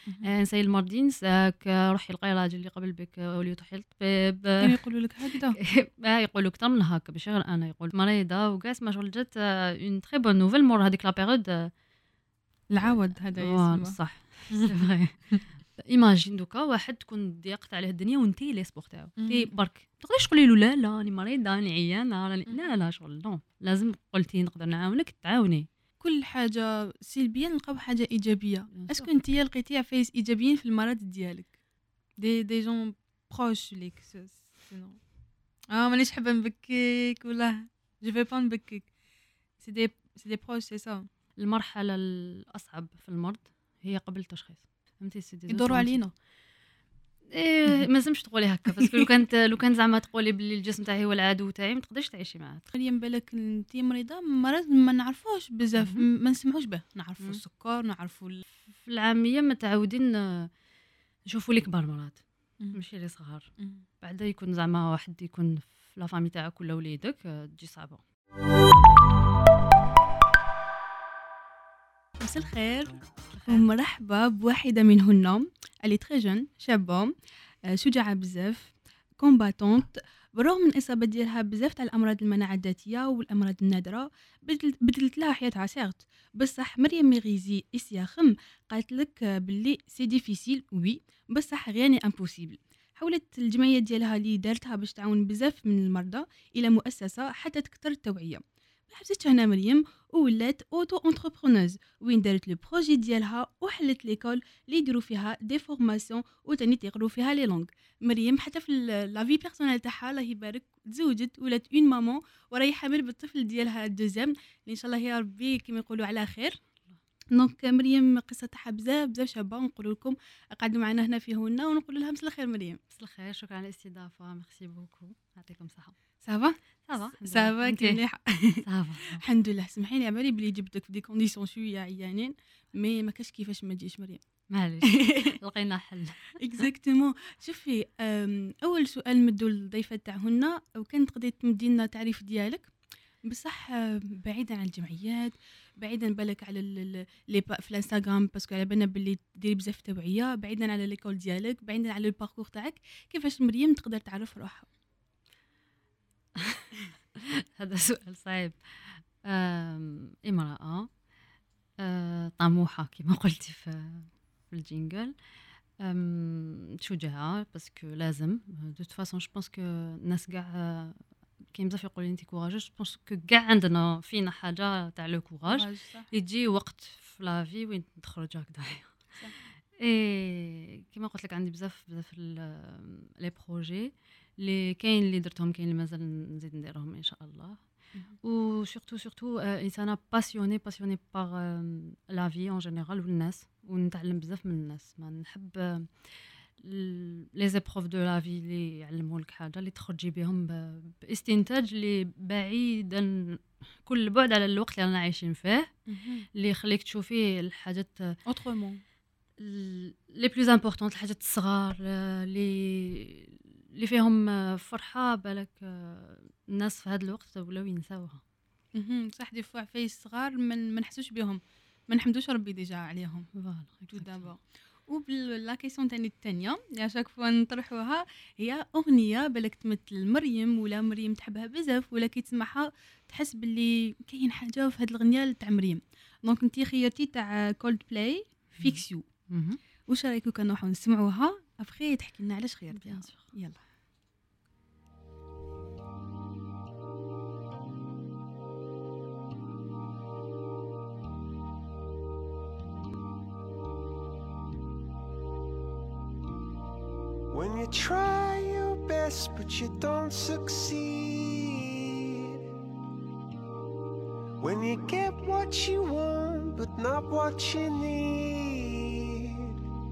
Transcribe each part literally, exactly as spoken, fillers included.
نساي المرضين نساك، روحي لقاي راجل اللي قبل بك ولي تروحي للطبيب. كانوا يقولوا لك هكذا؟ اه يقولوا اكثر من هكا، ماشي غير انا، يقول مريضه وكاع ما شغل جات اون تري بون نوفيل مور هذيك لا بيريود. العوض هذا فوالا يسمى. صح سي فغي. ايماجين دوكا واحد تكون ضيقت عليه الدنيا وانتي لي سبور تاعو تي برك تقدريش تقولي له لا لا راني مريضه راني عيانه راني لا لا شغل نو، لازم قلتي نقدر نعاونك تعاوني. كل حاجه سلبيه نلقاو حاجه ايجابيه. اسكو انت لقيتي عفايس ايجابيين في المرض ديالك؟ دي دي جون بروش ليك سينو اه مانيش حابه نبكيك ولا جو في با نبكيك. سي دي سي دي بروش سي سا. المرحله الاصعب في المرض هي قبل التشخيص، فهمتي سي دي يدوروا علينا. ايه ما لازمش تقولي هكا، باسكو لو كانت لو كان زعما تقولي باللي الجسم تاعي هو العدو تاعي ما تقدريش تعيشي معاه. تخيلي بالك انت مريضه مرض ما نعرفوش بزاف، ما نسمعوش به، نعرفوا السكر نعرفوا ال... في العاميه متعودين نشوفوا لي كبار مرض ماشي لي صغار. بعدا يكون زعما واحد يكون في لا فامي تاعك ولا وليدك تجي صعبه. مساء الخير ومرحبا بواحده منهن اللي تري جون، شابه شجاعه بزاف، كومباتونت، بالرغم من اصابه ديالها بزاف تاع الامراض المناعه الذاتيه والامراض النادره بدلت لها حياتها سيغت. بصح مريم ميغيزي اسياخم قالت لك باللي سي ديفيسيل وي بصح غياني امبوسيبل. حولت الجمعيه ديالها اللي دارتها باش تعاون بزاف من المرضى الى مؤسسه حتى تكثر التوعيه. ما حبستش هنا مريم ولات اوتو انتربرونوز وين دارت لو بروجي ديالها وحلت ليكول اللي يديروا فيها دي فورماسيون وتاني تيقروا فيها لي لونغ. مريم حتى في لا في بيرسونيل تاعها الله يبارك تزوجت ولات اون مامون وراهي حامل بالطفل ديالها الدوزيام اللي ان شاء الله يا ربي كما يقولوا على خير. دونك مريم قصه تاعها بزاف بزاف شابه، نقول لكم قعدوا معنا هنا في هنا ونقول لها مساء الخير مريم. مساء الخير، شكرا على الاستضافه، ميرسي بوكو، يعطيكم الصحه. صافا صافا صافا كي مليح صافا الحمد لله. سمحي لي عبالي بلي جبتك في دي كونديسيون شويه عيانين مي ما كاش كيفاش ما تجيش مريم. معليش لقينا حل. اكزاكتومون. شوفي اول سؤال مدو للضيفه تاعهن وكان تقدري تمدي لنا التعريف ديالك بصح بعيدا عن الجمعيات، بعيدا بالك على لي في الانستغرام باسكو على بالنا باللي ديري بزاف توعيه، بعيدا على ليكول ديالك، بعيدا على الباركور تاعك، كيفاش مريم تقدر تعرف روحها؟ هذا سؤال صعيب. امرأة طموحة كما قلتي في الجينجل، شجاعة باسكو لازم دو توت فاسون. جو بونس كو الناس كاع كاين بزاف يقولوا انت كوراجوس، جو بونس كو كاع عندنا فينا حاجه تاع لو كوراج، يجي وقت في لا في وين تخرج هكذا. اي كما قلت لك عندي بزاف بزاف لي بروجي اللي كاين اللي درتهم، كاين اللي مازال نزيد نديرهم ان شاء الله. و سورتو سورتو انسانه باسيوني باسيوني باغ لا في اون جينيرال والناس، ونتعلم بزاف من الناس. ما نحب لي زيبروف دو لا في اللي يعلموا لك حاجه اللي تخرجي بهم باستنتاج اللي بعيدا كل البعد على الوقت اللي رانا عايشين فيه، اللي يخليك تشوفي الحاجات اوترومون لي بلوز امبورطون، الحاجات الصغار اللي اللي فيهم فرحه. بالك الناس في هذا الوقت ولاو ينساوها. صح دي فوا عفايس صغار من ما نحسوش بهم، ما نحمدوش ربي ديجا عليهم. فوالا تو دابا. وبلا كيسيون تاني الثانيه يا شاك فوا نطرحوها هي اغنيه بالك تمثل مريم ولا مريم تحبها بزاف ولا كي تسمعها تحس باللي كاين حاجه في هذه الاغنيه تاع مريم. دونك انتي خيرتي تاع كولد بلاي فيكس يو. واش رايكم كان نروحوا نسمعوها ابخي تحكي لنا علاش خيرتيها؟ يلا. When you try your best but you don't succeed, when you get what you want but not what you need,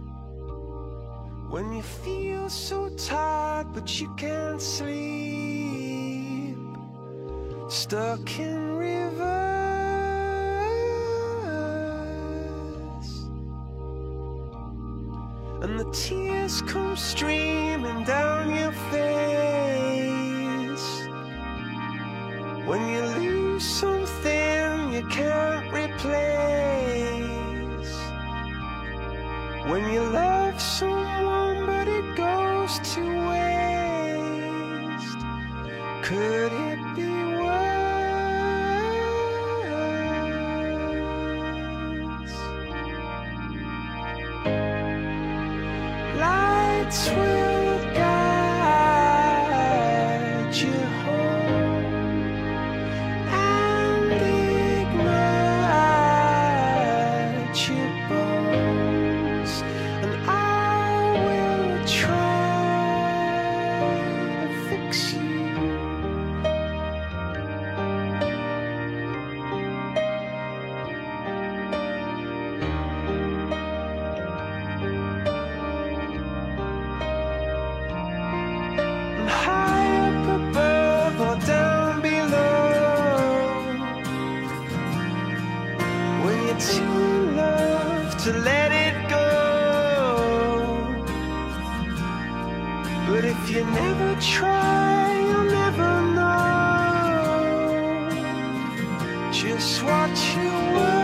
when you feel so tired but you can't sleep, stuck in reverse, and the tears come streaming down your face, when you lose something you can't replace, when you love someone but it goes to waste. Could it be worse? Lights will guide you home and ignite your bones, and I will try to fix you. And high up above or down below, when you're too in love to let it go. But if you never try, you'll never know just what you were.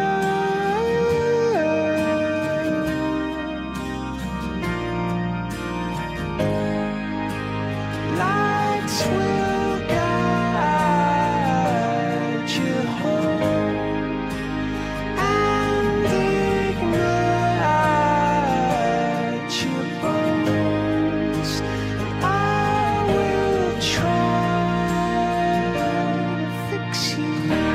Lights will guide you home and ignite your bones, and I will try to fix you.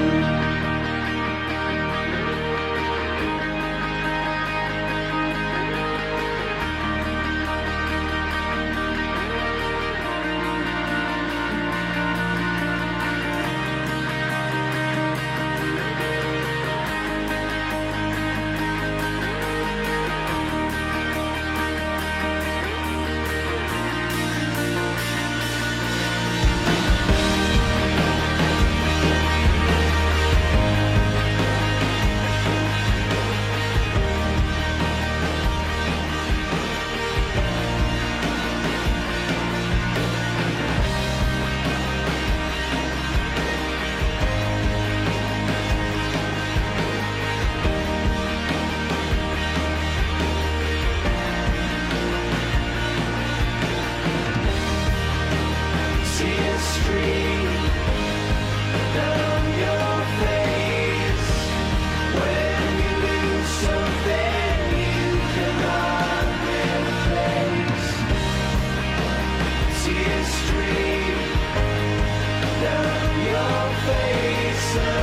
Tears stream down your face when you lose something you cannot replace. Tears stream down your face, and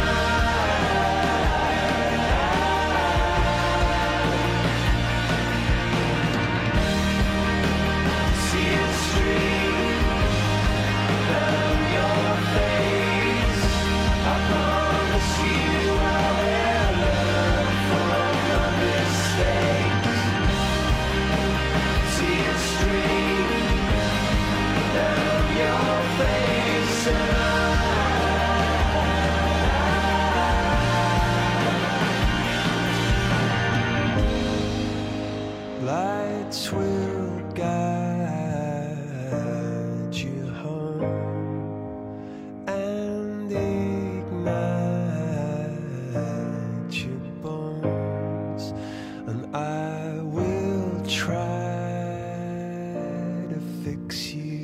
tears stream down your face. I promise you I will learn from my mistakes. Tears stream down your face, and lights will guide you home and ignite your bones, and I will try to fix you.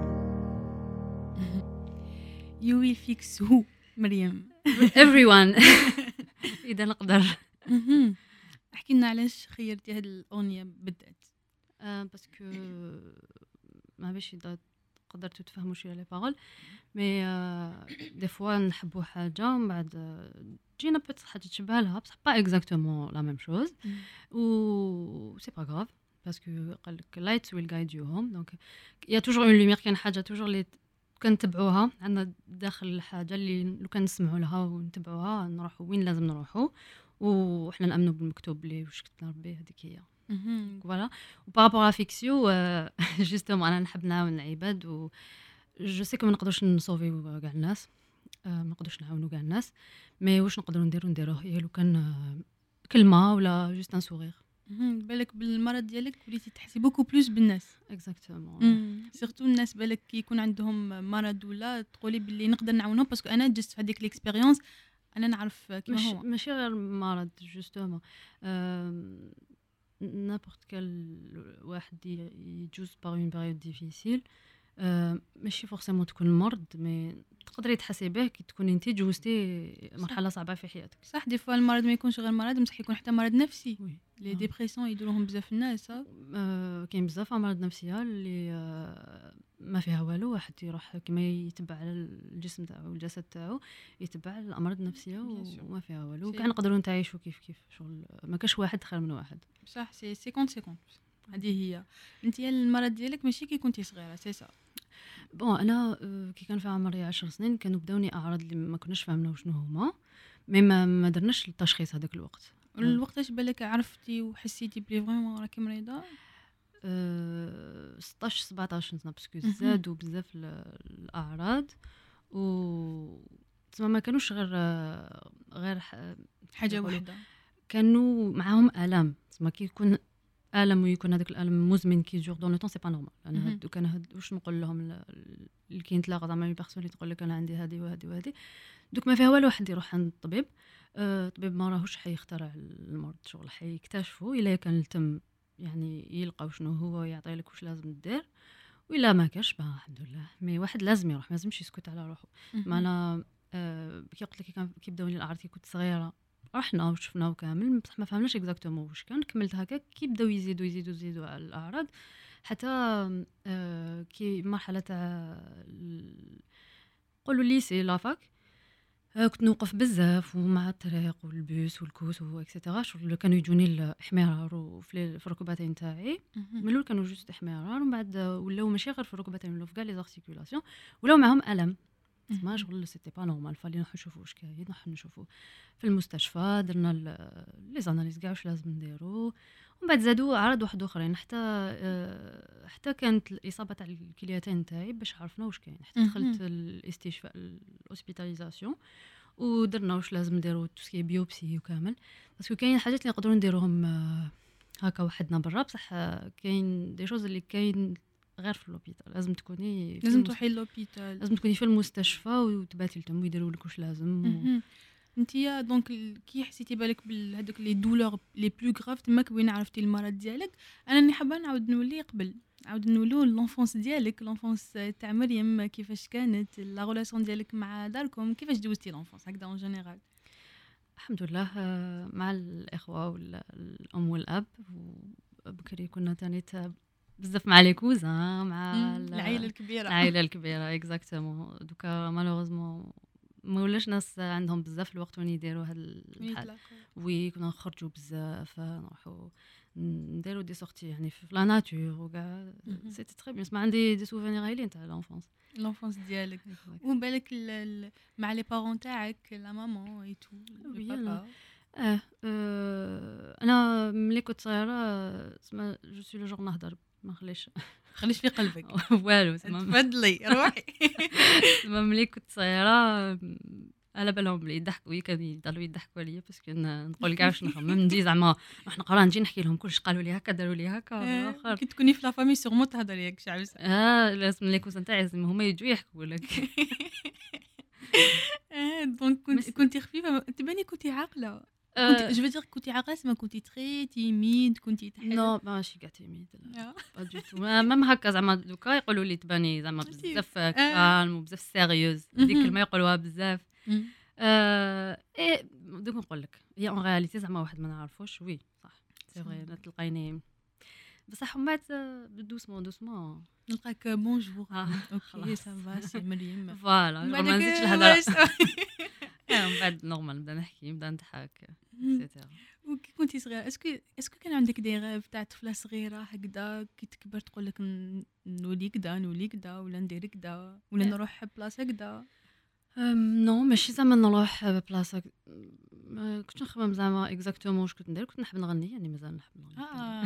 You will fix who مريم. everyone اذا نقدر. مهم. احكي لنا علاش خيرتي هاد الاغنيه بالذات. آه، باسكو ما باش إذا قدرتوا تفهموا شويه لي بارول، مي آه، دي فوا نحبوا حاجه ومن بعد آه، تجينا بيت حاجه تشبه لها بصح با اكزاكتومون لا ميم شوز، و سي با غراف باسكو قال لك لايت ويل جايد يو هوم. دونك يا توجور اون لوميير، كاين حاجه توجور اللي كنتبعوها عندنا داخل الحاجه اللي لو كان نسمعوا لها ونتبعوها نروحوا وين لازم نروحوا، وحنا نامنوا بالمكتوب اللي واش كتبنا ربي هذيك هي. فوالا. وبارابور ا فيكسيو جوستومون انا نحب نعاون العباد، و جو سي كو ما نقدروش نصوفيو كاع الناس، ما نقدروش نعاونوا كاع الناس، مي واش نقدروا نديروا نديروه هي لو كان كلمه ولا جوست ان سورير. بالك بالمرض ديالك وليتي تحسي بوكو بلوس بالناس. اكزاكتومون. سيرتو الناس بالك كي يكون عندهم مرض ولا تقولي باللي نقدر نعاونهم، باسكو انا جست في هذيك الاكسبيريونس انا نعرف كيما مش هو. ماشي غير مرض جوستومون، نابورت كال واحد ي- يجوز باغ اون بيريود ديفيسيل. آه، ماشي فورسيمون تكون مرض، مي تقدري تحسي به كي تكوني انت جوزتي مرحله صعبه في حياتك. صح دي فوا المرض ما يكونش غير مرض، بصح يكون حتى مرض نفسي. وي لي آه. ديبرسيون يديروهم بزاف الناس. آه. آه، كاين بزاف امراض نفسيه اللي آه، ما فيها والو، واحد يروح كما يتبع على الجسم تاعو والجسد تاعو، يتبع الامراض النفسيه Bien sûr. وما فيها والو. C'est- كاع نقدروا نتعايشوا كيف كيف، شغل ما كاش واحد خير من واحد. صح سي سيكونت سيكونت. هذه هي. انت المرض ديالك ماشي كي كنتي صغيره سي سا. بون انا آه، كي كان في عمري عشر سنين كانوا بداوني اعراض اللي ما كناش فاهمنا شنو هما، مي ما ما درناش التشخيص هذاك الوقت. الوقتاش بالك عرفتي وحسيتي بلي فريمون راكي مريضه؟ أه ستطاش سبعطاش سنه، باسكو مهم. زادوا بزاف ال- الاعراض، و تسمى ما كانوش غير آه، غير ح- حاجه يقولوا واحده. كانوا معاهم الام. تسمى كي يكون الم ويكون هذاك الالم مزمن كي جور دون لو طون، سي با نورمال. انا مهم. هادو كان هاد واش نقول لهم ل- اللي كاين تلاقى زعما لي بيرسون اللي تقول لك انا عندي هذه وهذه وهذه، دوك ما فيها والو واحد يروح عند الطبيب. آه، الطبيب ما راهوش حيخترع المرض، شغل حيكتشفوا الا كان التم يعني يلقاو شنو هو يعطي لك واش لازم دير، وإلا ما كاش با الحمد لله. مي واحد لازم يروح، ما لازمش يسكت على روحه. ما انا آه، كي قلت لك كي كان كي بداوني الاعراض كي كنت صغيره، رحنا وشفنا وكامل، بصح ما فهمناش اكزاكتومون واش كان. كملت هكا كي بداو يزيدوا يزيدوا يزيدوا على الاعراض، حتى آه، كي مرحله تاع ال- نقولوا ليسي لافاك، آه، كنت نوقف بزاف ومع الطريق والبوس والكوس واكسيتيرا، شغل كانوا يجوني الاحمرار وفي في الركبتين تاعي. من الاول كانوا جوست احمرار، ومن بعد ولاو ماشي غير في الركبتين، ولاو في كاع لي زارتيكولاسيون، ولاو معاهم الم. ما شغل سيتي با نورمال، فالي نروحو نشوفو واش كاين، نروحو نشوفو في المستشفى، درنا لي زاناليز كاع واش لازم نديرو. ومن بعد زادوا اعراض واحد اخرين، حتى آه، حتى كانت الاصابه تاع الكليتين تاعي باش عرفنا واش كاين، حتى دخلت الاستشفاء الاوسبيتاليزاسيون ودرنا واش لازم نديرو توسكي بيوبسي وكامل. باسكو كاين حاجات اللي نقدروا نديروهم آه، هكا وحدنا برا، بصح آه، كاين دي شوز اللي كاين غير في لوبيتال، لازم تكوني في لازم المست- تروحي لوبيتال. لازم تكوني في المستشفى وتباتي لتم ويديروا لك واش لازم و... مهم. انتيا دونك ال- كي حسيتي بالك بهذوك لي دولور لي بلو غراف تماك وين عرفتي المرض ديالك. انا اللي حابه نعاود نولي قبل، نعاود نولو لونفونس ديالك، لونفونس تاع مريم كيفاش كانت لا ريلاسيون ديالك مع داركم، كيفاش دوزتي لونفونس هكذا اون جينيرال. الحمد لله آه، مع الاخوه والام والاب. وبكري كنا تاني تا- بزاف مع لي كوزان، مع ال- العائله الكبيره. العائله الكبيره اكزاكتومون. دوكا مالوغوزمون ما ولاش ناس عندهم بزاف الوقت وين يديروا هاد وين الحال. يتلاقاو. وي كنا نخرجوا بزاف، نروحوا نديروا دي سورتي يعني في لا ناتور وكاع. مهم. سيتي تري بيان. ما عندي دي سوفينير هايلين تاع لونفونس. لونفونس ديالك وبالك ال- ال- مع لي بارون تاعك لا مامون اي تو وي، البابا. اه آه، انا ملي كنت صغيره تسمى جو سوي لو جور نهضر ما نخليش خليش في قلبك. والو. تسمى تفضلي روحي. تسمى ملي كنت صغيره م، على بالهم بلي يضحكوا لي، كانوا يضلوا يضحكوا عليا باسكو ن- نقول كاع واش نخمم، ندي زعما نروح نقرا نجي نحكي لهم كلش قالوا لي هكا داروا لي هكا آه، اخر. كي تكوني في لا فامي سيغمون تهضري هيك شي عفسه. اه لازم لي كوزان تاعي لازم هما يجوا يحكوا لك. آه، دونك كنت مس- كنتي خفيفه، تباني كنتي عاقله. آه، كنت جو دير كنتي عاقله سما كنتي تري تيميد كنتي تحل. نو ماشي كاع تيميد، لا آه. با دو تو. ميم هكا زعما دوكا يقولوا لي تباني زعما ماشي. بزاف آه. كالم وبزاف سيريوز، ديك مهم. الكلمه يقولوها بزاف. مم. آه، ايه دوك نقول لك هي اون رياليتي زعما واحد ما نعرفوش. وي صح سي فري تلقيني بصح من بعد دوسمون دوسمون نلقاك بونجور. آه، اوكي خلاص. سافا سي مريم. فوالا من ما بعدك نزيدش واش- الهضره. آه، من بعد نورمال نبدا نحكي نبدا نضحك مم. اكسيتيرا. وكي كنتي صغيره اسكو اسكو كان عندك دي غاف تاع طفله صغيره هكذا كي تكبر تقول لك ن- نولي كدا نولي كدا ولا ندير كدا ولا لا. نروح بلاصه كدا. أم، نو ماشي زعما نروح بلاصه. ما كنتش نخمم زعما اكزاكتومون واش كنت ندير. كنت نحب نغني يعني مازال نحب نغني. اه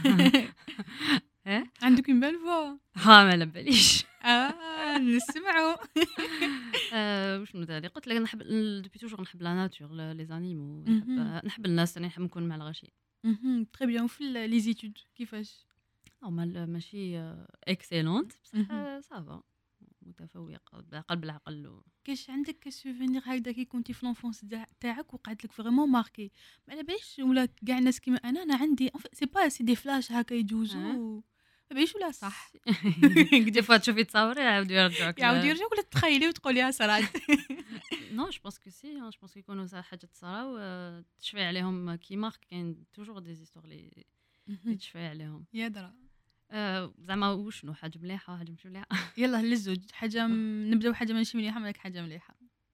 ايه عندك une belle voix. ها ما على باليش. اه نسمعوا. آه، واش من ثاني قلت لك نحب دوبي توجور نحب لا ناتور لي زانيمو، نحب مهم. نحب الناس، انا نحب نكون مع الغاشي. تري بيان. وفي لي زيتود كيفاش؟ نورمال ماشي اكسيلونت بصح مهم. سافا. متفوقه بالعقل بالعقل و... كاش عندك سوفينير هكذا كي كنتي في لونفونس تاعك وقعت لك فريمون ماركي ما على باليش ولا كاع الناس كيما انا انا عندي سي با سي دي فلاش هكا يجوزوا ما باليش ولا صح دي فوا تشوفي تصوري يعاودوا يرجعوك يعاودوا يرجعوك ولا تخيلي وتقوليها صراحه نو جو بونس كو سي جو بونس يكونوا صح حاجه تصراو تشفي عليهم كي مارك كاين توجور دي زيستور لي تشفي عليهم يا درا زعما وشنو حاجه مليحه حاجه مش مليحه يلا للزوج حاجه نبداو حاجه ماشي مليحه مالك حاجه مليحه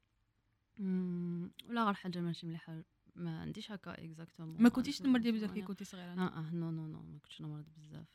ولا غير حاجه ماشي مليحه ما عنديش هكا اكزاكتومون ما كنتيش تمرضي بزاف كي كنتي صغيره اه اه نو نو نو ما كنتش نمرض بزاف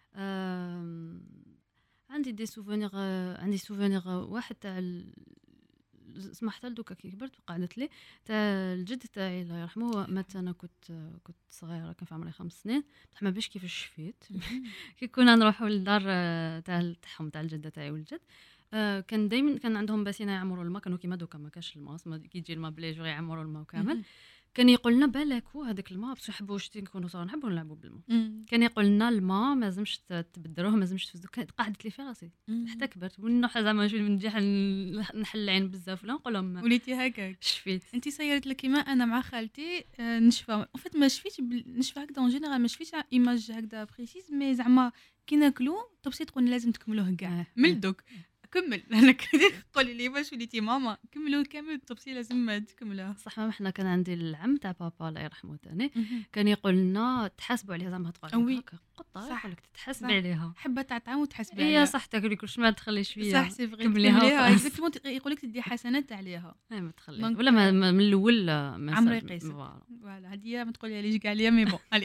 عندي دي سوفونير عندي سوفونير واحد تاع اسمح حتى دوكا كي كبرت وقعدت لي تاع الجد تاعي الله يرحمه مات انا كنت كنت صغيره كان في عمري خمس سنين بصح ما باش كيفاش شفيت كي كنا نروحوا للدار تاع تاعهم تاع الجده تاعي والجد كان دائما كان عندهم باسينه يعمروا الماء كانوا كيما دوكا ما كاش الماء كي يجي الماء بلي جوغ يعمروا الماء كامل كان يقول لنا بالكو هذاك الماء بصح نحبوا شتي نكونوا صغار نحبوا نلعبوا بالماء كان يقول لنا الماء ما لازمش تبدروه ما لازمش تفزو قعدت لي في راسي حتى كبرت ونروح زعما نجي نجي نحل العين بزاف ولا نقول لهم وليتي هكاك شفيت انت صيرت لك كيما انا مع خالتي نشفى ان فيت ما شفيتش نشفى هكذا اون جينيرال ما شفيتش ايماج هكذا بريسيز مي زعما كي ناكلو طبسي تقول لازم تكملوه كاع من دوك كمل انا قولي لي باش وليتي ماما كملوا كامل الطبسي لازم تكملوها صح ما احنا كان عندي العم تاع بابا الله يرحمه ثاني كان يقول لنا تحاسبوا عليها زعما تقول هكا قطه يقول لك تحاسبي عليها حبه تاع طعام وتحاسبي عليها هي صح تاكلي كلش ما تخليش فيها صح سي فري كمليها اكزاكتومون يقول لك تدي حسنات عليها ما تخلي ولا ما من الاول ما عمري قيس فوالا هذه ما تقولي ليش كاع ليا مي بون علي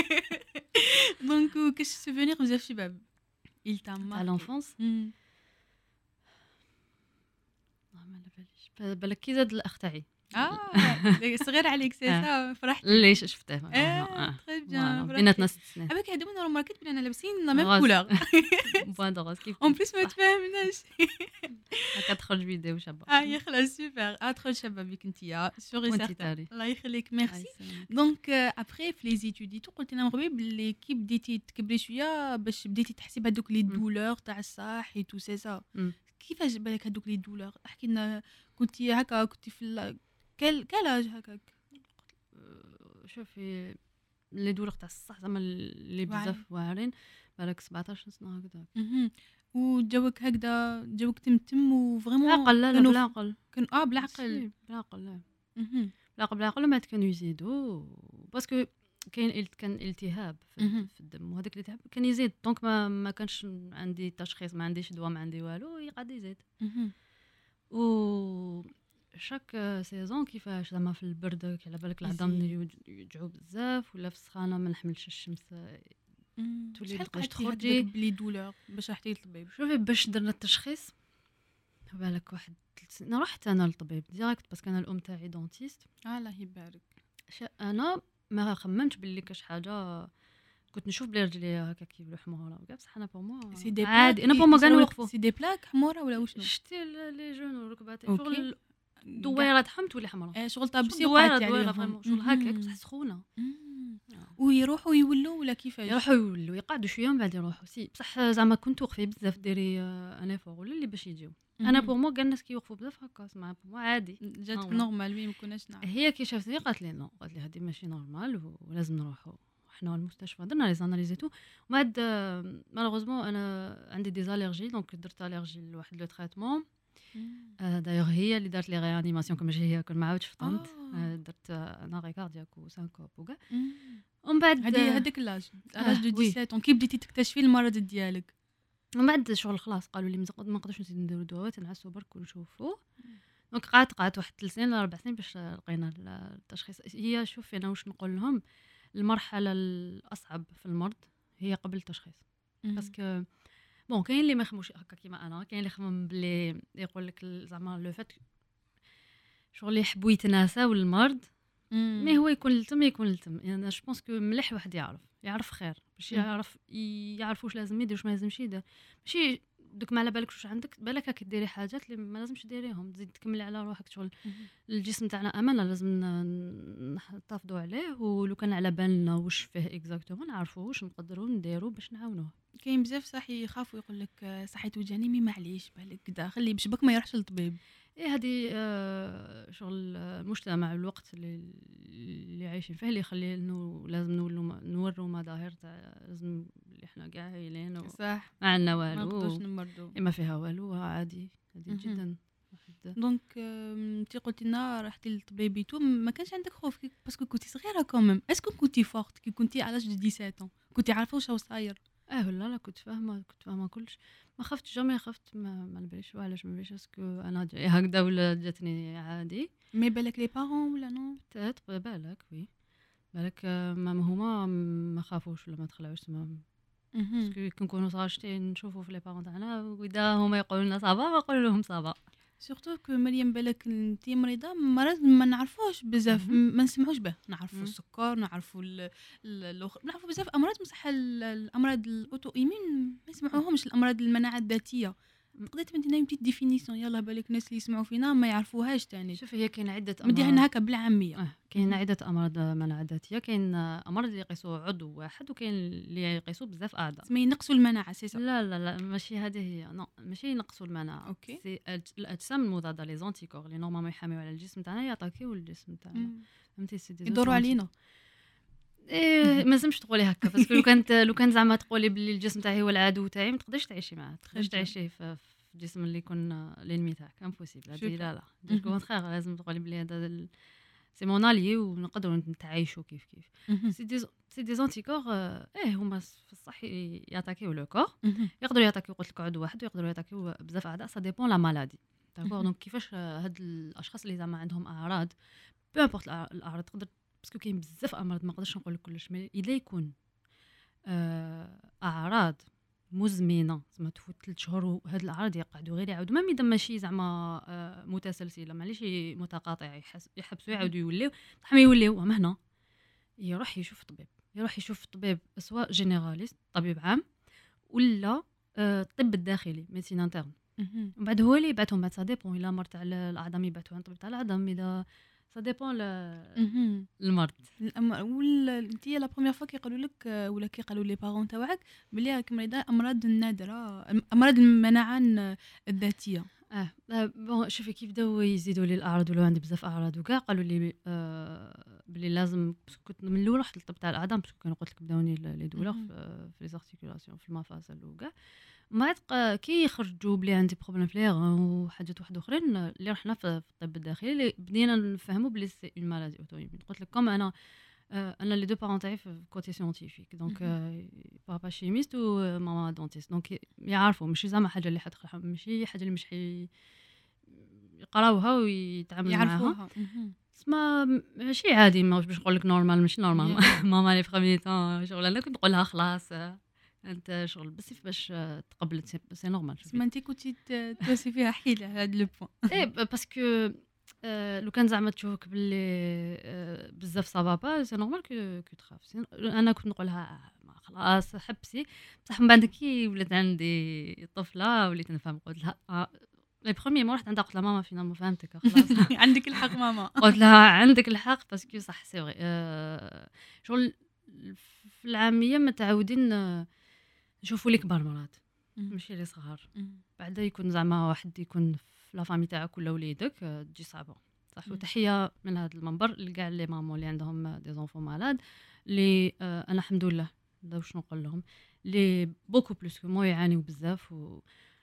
دونك كاش سوفونير بزاف شباب il t'a marqué à l'enfance بالك كي زاد الاخ تاعي اه صغير عليك سي سا فرحت ليش شفته اه تري بيان بيناتنا ست سنين اباك هادو انا ماركت بلي انا لابسين لا ميم كولور بوان دو روز كيف اون بليس ما تفاهمناش هكا تخرج فيديو شابه اه يا خلاص سوبر ادخل شابه بك انتيا سوري سيرتان الله يخليك ميرسي دونك ابري في لي زيتودي تو قلت لنا مغربي بلي كي بديتي تكبري شويه باش بديتي تحسي بهذوك لي دولور تاع الصح اي تو سي سا كيفاش بالك هذوك لي دولور احكي لنا كنتي هكا كنتي في كل كلاج هكاك شوفي لي دولور تاع الصح زعما اللي بزاف واعرين بالك سبعطاش سنه هكذا وجوك هكذا جوك تمتم وفريمون عقل لا لا بالعقل كان اه بالعقل بالعقل لا بالعقل بالعقل ما كانوا يزيدوا باسكو كاين كان التهاب في, في الدم وهذاك الالتهاب كان يزيد دونك ما ما كانش عندي تشخيص ما عنديش دواء ما عندي والو يقعد يزيد و شاك سيزون كيفاش زعما في البرد على بالك العظام يوجعوا بزاف ولا في السخانه ما نحملش الشمس تولي باش تخرجي بلي دولور باش رحتي للطبيب شوفي باش درنا التشخيص بالك واحد انا رحت انا للطبيب ديريكت باسكو انا الام تاعي دونتيست الله يبارك انا ما خممتش باللي كاش حاجه كنت نشوف بلي رجلي هكا كيبلو حموره وكاع بصح انا بور موا عادي انا بور موا كانوا يوقفوا سي دي بلاك حموره ولا وشنو شتي لي جون والركبات شغل دويره تحم تولي حمراء شغل طابسي دويره دويره فريمون شغل هكاك بصح سخونه ويروحوا يولوا ولا كيفاش يروحوا يولوا يقعدوا شويه من بعد يروحوا سي بصح زعما كنت وقفي بزاف ديري انا فوق ولا اللي باش يجيو انا بور مو كاع الناس كيوقفوا بزاف هكا سمع بور مو عادي جاتك نورمال وي ما كناش نعرف هي كي شافتني قالت لي نو قالت لي هذه ماشي نورمال ولازم نروحوا حنا المستشفى درنا لي زاناليزيتو ومن بعد مالوغوزمون انا عندي دي زاليرجي دونك درت اليرجي لواحد لو تريتمون دايوغ هي اللي دارت لي ريانيماسيون كما هي كون ما عاودش فطنت درت انا ري كاردياك وسانكوب وكاع ومن بعد هذه هذيك لاج لاج دو سبعطاش كي بديتي تكتشفي المرض ديالك ومن بعد شغل خلاص قالوا لي ما نقدرش نزيد نديرو دواء نعسو برك ونشوفوا دونك قعدت قعدت واحد ثلاث سنين ولا اربع سنين باش لقينا التشخيص هي شوف انا واش نقول لهم المرحله الاصعب في المرض هي قبل التشخيص باسكو بون كاين اللي ما يخموش هكا كيما انا كاين اللي يخمم بلي يقول لك زعما لو فات شغل يحبوا يتناساو المرض مي هو يكون لتم يكون لتم يعني انا جو بونس كو مليح واحد يعرف يعرف خير باش يعرف يعرف واش لازم يدير واش ما لازمش يدير ماشي دوك ما على بالكش واش عندك، بالك راكي ديري حاجات اللي ما لازمش ديريهم، تزيد تكملي على روحك شغل. الجسم تاعنا امانه لازم ن- نحتفظوا عليه، ولو كان على بالنا واش فيه اكزاكتومون نعرفوا واش نقدروا نديروا باش نعاونوه. كاين بزاف صح يخافوا يقول لك صحي توجعني مي معليش بالك كدا خلي بشبك ما يروحش للطبيب. ايه هذه آه شغل المجتمع الوقت اللي اللي عايشين فيه اللي يخلي انه لازم نولوا نوروا مظاهر تاع لازم اللي احنا كاع هايلين و- صح ما عندنا ما نقدروش والو، نمرضوا. ما فيها والو، عادي عادي مهم. جدا. واحد دونك انت قلتي لنا رحتي للطبيب تو ما كانش عندك خوف كي- باسكو كنتي صغيره كوميم. اسكو كنتي فورت كي كنتي على لاج سبعة عشر كنتي عارفه واش راهو صاير؟ اه لا لا كنت فاهمه كنت فاهمه كلش، ما خفتش جامي خفت، ما ما نباليش علاش ما نباليش اسكو انا جاي هكذا ولا جاتني عادي. مي بالك لي بارون ولا نو؟ تات بالك وي بالك آه، ما ما هما ما خافوش ولا ما تخلعوش تما، مهم. باسكو كي نكونوا صغاشتين نشوفوا في لي بارون تاعنا واذا هما يقولوا لنا صافا ما نقول لهم صافا. سورتو كو مريم بالك انت مريضه مرض ما نعرفوش بزاف مهم. ما نسمعوش به، نعرفوا مم. السكر نعرفوا ال- ال- الاخر نعرفوا بزاف امراض بصح ال- الامراض الاوتو ايمين ما يسمعوهمش، الامراض المناعه الذاتيه. مم. تقدري تمدينا بتيت ديفينيسيون يلا بالك الناس اللي يسمعوا فينا ما يعرفوهاش تاني، شوف هي كاين عده مديها امراض. لنا هكا بالعاميه. اه كاين مهم. عده امراض مناعه ذاتيه، كاين آه، امراض اللي يقيسوا عضو واحد، وكاين اللي يقيسوا بزاف اعضاء. تسمى ينقصوا المناعه سي سا. لا لا لا ماشي هذه هي، نو ماشي ينقصوا المناعه، أوكي. سي الأج- الاجسام المضاده لي زونتيكور اللي نورمالمون يحاميو على الجسم تاعنا ياتاكيو الجسم تاعنا، مم. فهمتي سي دي يدوروا علينا. ايه ما لازمش تقولي هكا، باسكو لو كانت لو كان زعما تقولي باللي الجسم تاعي هو العدو تاعي ما تقدرش تعيشي معاه، تقدرش bien. تعيشي في في الجسم اللي يكون لينمي تاعك امبوسيبل. هذه Super. لا لا مهم. دو كونترير، لازم تقولي بلي هذا ال- سي مون الي ونقدروا نتعايشوا كيف كيف. مهم. سي دي سي دي زونتيكور ايه هما في الصح ياتاكيو لو كور، مهم. يقدروا ياتاكيو قلت لك عضو واحد ويقدروا ياتاكيو بزاف اعضاء، سا ديبون لا مالادي داكور. مهم. دونك كيفاش آه، هاد الاشخاص اللي زعما عندهم اعراض بو امبورط الاعراض تقدر، باسكو كاين بزاف امراض ما نقدرش نقول لك كلش، مي اذا يكون آه، اعراض مزمنه زعما تفوت ثلاث شهور وهاد الاعراض يقعدوا غير يعاودوا، ما اذا ماشي زعما آه، متسلسله معليش متقاطعه يحس- يحبسوا يعاودوا يوليو صح ما يوليو هما هنا، يروح يشوف طبيب، يروح يشوف طبيب سواء جينيراليست طبيب عام ولا آه، الطب الداخلي ميديسين انترن، مهم. ومن بعد هو اللي يبعثهم. بعد سا ديبون الا مرض تاع الاعظم يبعثوا عند طبيب تاع العظم، اذا سا ديبون مهم. المرض. الأم- ولا انت لا بروميير فوا كيقولوا لك آه، ولا كيقالوا لي بارون تاعك بلي راك مريضه امراض النادره أم- امراض المناعه الن- الذاتيه. اه آه، بون شوفي كيف بداو يزيدوا لي الاعراض ولو عندي بزاف اعراض وكاع قالوا لي آه بلي لازم، باسكو كنت من الاول رحت للطب تاع الاعظام، باسكو كانوا قلت لك بداوني لي دولور مهم. في في لي زارتيكولاسيون في المفاصل وكاع. من بعد ق- كي يخرجوا بلي عندي بروبليم في لي غون وحاجات واحد اخرين اللي رحنا في في الطب الداخلي اللي بدينا نفهموا بلي سي اون مالادي اوتو ايمون. قلت لك كوم انا آه، انا لي دو بارون تاعي في كوتي سيونتيفيك، دونك مهم. بابا شيميست وماما دونتيست، دونك يعرفوا ماشي زعما حاجه اللي حتخ- ماشي حاجه اللي مش حي يقراوها ويتعاملوا معاها. يعرفوها. مهم. اسما ماشي عادي، ما باش نقول لك نورمال ماشي نورمال. Yeah. ماما لي بخومي طون شغل انا كنت نقول لها خلاص آه، انت شغل بس باش آه، تقبلت سي سي نورمال. تسمى انت كنتي ت- توصي فيها حيله هاد لو بوين. ايه ب- باسكو آه، لو كان زعما تشوفك باللي آه، بزاف سافا با سي نورمال كو كو تخاف. سي- انا كنت نقول لها آه، ما خلاص حبسي، بصح من بعد كي ولات عندي طفله وليت نفهم، قلت لها آه، لي بروميي مو رحت عندها قلت لها ماما فينا ما فهمتك خلاص. عندك الحق ماما. قلت لها عندك الحق باسكو صح سي فري آه، شغل في العاميه متعودين آه، نشوفوا لي كبار مرات مهم. ماشي لي صغار. مهم. بعدا يكون زعما واحد يكون في لا فامي تاعك ولا وليدك آه، تجي صعبه صح. مم. وتحيه من هذا المنبر لكاع لي مامون اللي عندهم دي زونفون مالاد اللي آه، انا الحمد لله لا واش نقول لهم لي بوكو بلوس كو مو يعانيو بزاف و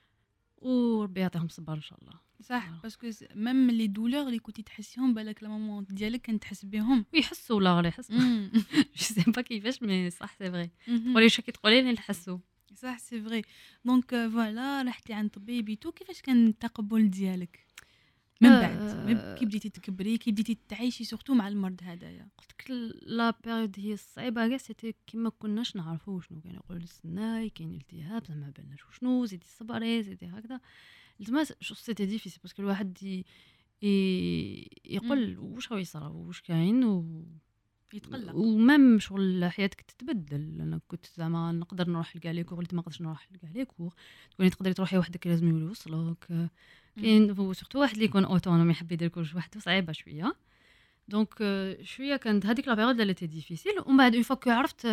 وربي يعطيهم الصبر ان شاء الله. صح آه. باسكو ميم لي دولور اللي كنتي تحسيهم بالك لا ماما ديالك كانت تحس بهم. ويحسوا ولا غير يحسوا مم. جو سي با كيفاش مي صح سي فري. مهم. تقولي واش كي تقولي لي نحسوا. صح سي فري. دونك فوالا رحتي عند طبيبي تو كيفاش كان التقبل ديالك من بعد آه. كي بديتي تكبري كي بديتي تعيشي سورتو مع المرض هذايا؟ قلت لك لا بيريود هي الصعيبه كاع سيتي كيما كناش نعرفوا شنو كانوا يقولوا السناي كاين التهاب زعما ما بالناش شنو، زيدي صبري زيدي هكذا زعما شو سيتي ديفيسيل باسكو الواحد ي... ي... يقول واش راه يصرا واش كاين و يتقلق. ومام شغل حياتك تتبدل. انا كنت زعما نقدر نروح لكاع لي كور، وليت ما نقدرش نروح لكاع لي كور. تكوني تقدري تروحي وحدك لازم يوصلوك. كاين سورتو واحد اللي يكون اوتونوم يحب يدير كلش وحده صعيبه شويه. دونك شويه كانت هذيك لا بيريود اللي تي ديفيسيل. ومن بعد اون فوا عرفت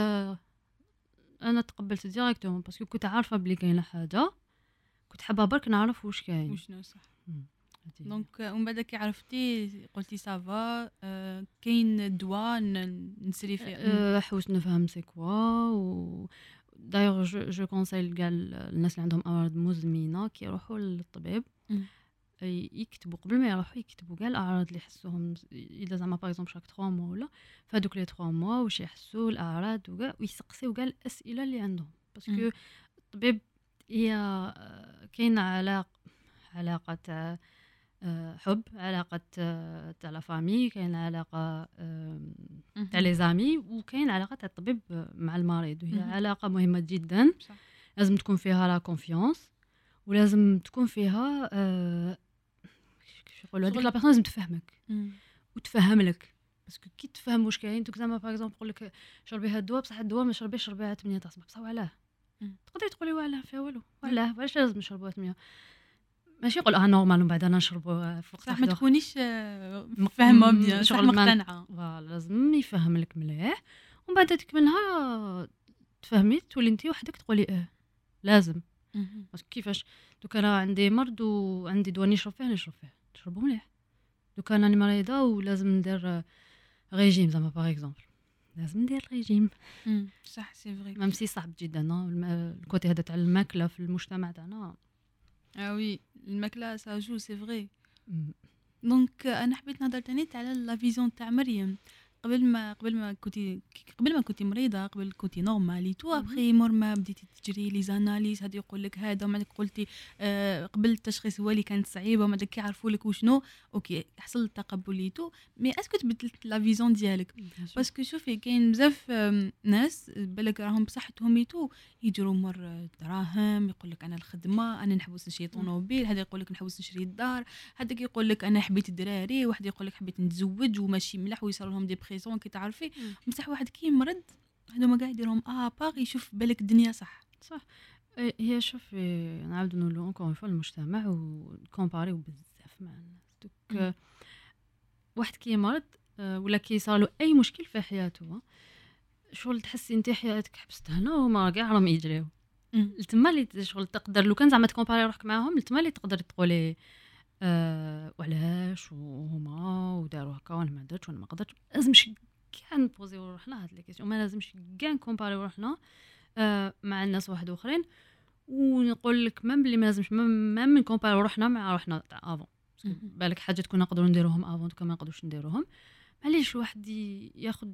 انا تقبلت ديريكتومون باسكو كنت عارفه بلي كاينه حاجه كنت حابه برك نعرف واش كاين وشنو صح. دونك ومن بعد كي عرفتي قلتي سافا آه كاين دواء نسري فيه أه حوس نفهم سي كوا. و دايوغ جو جو كونسايل كاع الناس اللي عندهم امراض مزمنه كي يروحوا للطبيب يكتبوا قبل ما يروحوا يكتبوا كاع الاعراض اللي يحسوهم اذا زعما باغ اكزومبل شاك ثلاثة موا ولا فهادوك لي ثلاثة موا واش يحسوا الاعراض وكاع ويسقسيو كاع الاسئله اللي عندهم باسكو الطبيب هي كاين علاقه علاقه تاع حب، علاقه تاع لا فامي، كاين علاقه تاع لي زامي، وكاين علاقه تاع الطبيب مع المريض. وهي علاقه مهمه جدا صح. لازم تكون فيها لا كونفيونس ولازم تكون فيها أه كيف يقولوا هذيك لا بيرسون لازم تفهمك وتفهم لك باسكو كي تفهم واش كاين دوك زعما باغ اكزومبل يقول لك شربي هاد الدواء بصح الدواء ما شربيش شربيها ثمانية تاع الصباح بصح وعلاه تقدري تقولي وعلاه فيها والو وعلاه واش لازم نشربوها ثمانية ماشي يقول اه نورمال ومن بعد انا نشربوا في وقت صح ما تكونيش فاهمه بيان صح مقتنعه فوالا لازم يفهم لك مليح ومن بعد تك منها تفهمي تولي انت وحدك تقولي اه لازم بس كيفاش دوك انا عندي مرض وعندي دواء نشرب فيه نشرب فيه نشربو مليح دوك انا مريضه ولازم ندير ريجيم زعما باغ اكزومبل لازم ندير ريجيم صح سي فري ميم سي صعب جدا الكوتي هذا تاع الماكله في المجتمع تاعنا اه وي الماكله سا جو سي فري دونك انا حبيت نهضر تاني على لا فيزيون تاع مريم قبل ما قبل ما كنتي قبل ما كنتي مريضه قبل كنتي نورمالي تو ابخي مور ما بديتي تجري لي زاناليز هذا يقول لك هذا وما قلتي آه قبل التشخيص هو اللي كانت صعيبه وما داك يعرفوا لك وشنو اوكي حصل التقبل تو مي اسكو تبدلت لا فيزيون ديالك باسكو شوفي كاين بزاف ناس بالك راهم بصحتهم يتو يجروا مر دراهم يقول لك انا الخدمه انا نحوس نشري طوموبيل هذا يقول لك نحوس نشري الدار هذاك يقول لك انا حبيت الدراري واحد يقول لك حبيت نتزوج وماشي ملاح ويصير لهم دي بريزون كي تعرفي بصح واحد كي مرض هذوما كاع يديرهم اه باغ يشوف بالك الدنيا صح صح هي شوف نعاود نقولوا اونكور فوا المجتمع وكومباريو بزاف مع الناس دوك واحد كي مرض ولا كي صار له اي مشكل في حياته شغل تحسي انت حياتك حبست هنا وما كاع راهم يجريو تما اللي شغل تقدر لو كان زعما تكومباري روحك معاهم تما اللي تقدر تقولي أه وعلاش وهما وداروا هكا وانا ما درتش وانا ما قدرتش لازمش كاع نبوزيو روحنا هاد لي كيسيون ما لازمش كاع نكومباريو روحنا أه مع الناس واحد اخرين ونقول لك ميم بلي ما لازمش ميم نكومباريو روحنا مع روحنا تاع افون بالك حاجه تكون نقدروا نديروهم افون دوكا ما نقدروش نديروهم معليش واحد ياخذ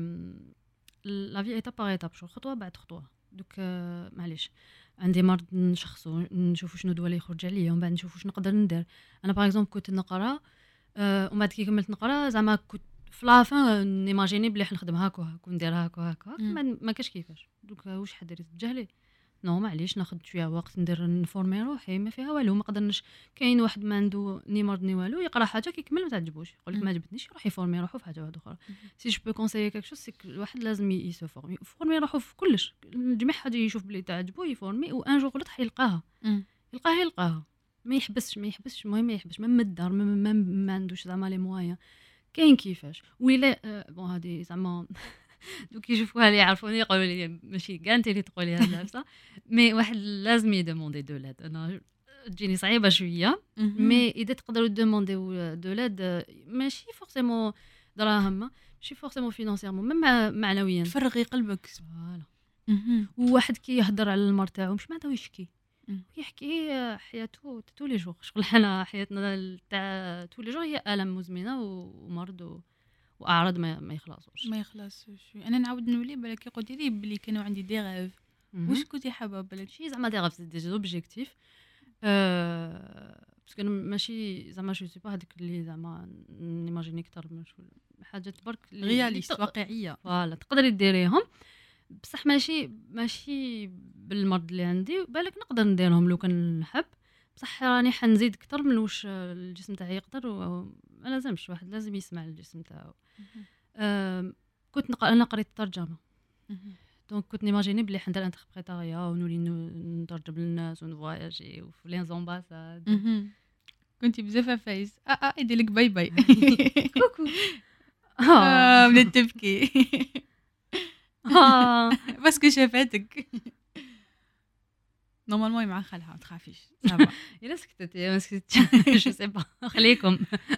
لا في ايتاب باغ ايتاب شو خطوه بعد خطوه دوك أه معليش عندي مرض نشخصو نشوفو شنو الدواء اللي يخرج عليا ومن بعد نشوفو واش نقدر ندير انا باغ اكزومبل كنت نقرا أه ومن بعد كي كملت نقرا زعما كنت في لافان نيماجيني بلي حنخدم هاكا هاكا ندير هاكا هاكا ما كاش كيفاش دوك واش حديري تجهلي نو معليش ناخذ شويه وقت ندير نفورمي روحي ما فيها والو ما قدرناش كاين واحد ما عنده ني مرض ني والو يقرا حاجه كيكمل ما تعجبوش يقول لك ما عجبتنيش يروح يفورمي روحو في حاجه واحده اخرى سي جو بو كونسايي كاك شوز سي الواحد لازم يسو فورمي فورمي روحو في كلش جميع حاجه يشوف بلي تعجبو يفورمي وان جور غلط حيلقاها يلقاها يلقاها ما يحبسش ما يحبسش المهم ما يحبسش من الدار ما, ما عندوش زعما لي موايا كاين كيفاش ويلا آه بون هذه زعما دوك يشوفوها اللي يعرفوني يقولوا لي ماشي كاع انت اللي تقولي هذا بصح مي واحد لازم يدوموندي دولاد انا تجيني صعيبه شويه مي اذا تقدروا دومونديو دولاد ماشي فورسيمون دراهم ماشي فورسيمون فينانسيرمون ميم معنويا فرغي قلبك فوالا وواحد كي يهضر على المرض تاعو مش معناتها يشكي يحكي حياته تولي جوغ شغل حنا حياتنا تاع تولي جوغ هي الم مزمنه ومرض واعراض ما ما يخلصوش ما يخلصوش انا نعاود نولي بالك قلتي لي بلي كانوا عندي دي غاف واش كنتي حابه بالك شي زعما دي غاف دي اوبجيكتيف ا باسكو ماشي زعما جو سي با هذيك اللي زعما نيماجيني اكثر من حاجات برك رياليست واقعيه فوالا تقدري ديريهم بصح ماشي ماشي بالمرض اللي عندي بالك نقدر نديرهم لو كان نحب بصح راني حنزيد اكثر من واش الجسم تاعي يقدر ما لازمش واحد لازم يسمع الجسم تاعو كنت نق... انا قريت الترجمه دونك كنت نيماجيني بلي حندير انتربريتاريا ونولي ن- نترجم للناس ونفواياجي وفي لي زومباساد. كنتي بزاف فايز اه اه يدير لك باي باي كوكو اه بدات تبكي اه باسكو شافتك نورمالمون مع خالها ما تخافيش صافا الا سكتتي ما سكتتش جو سي با خليكم.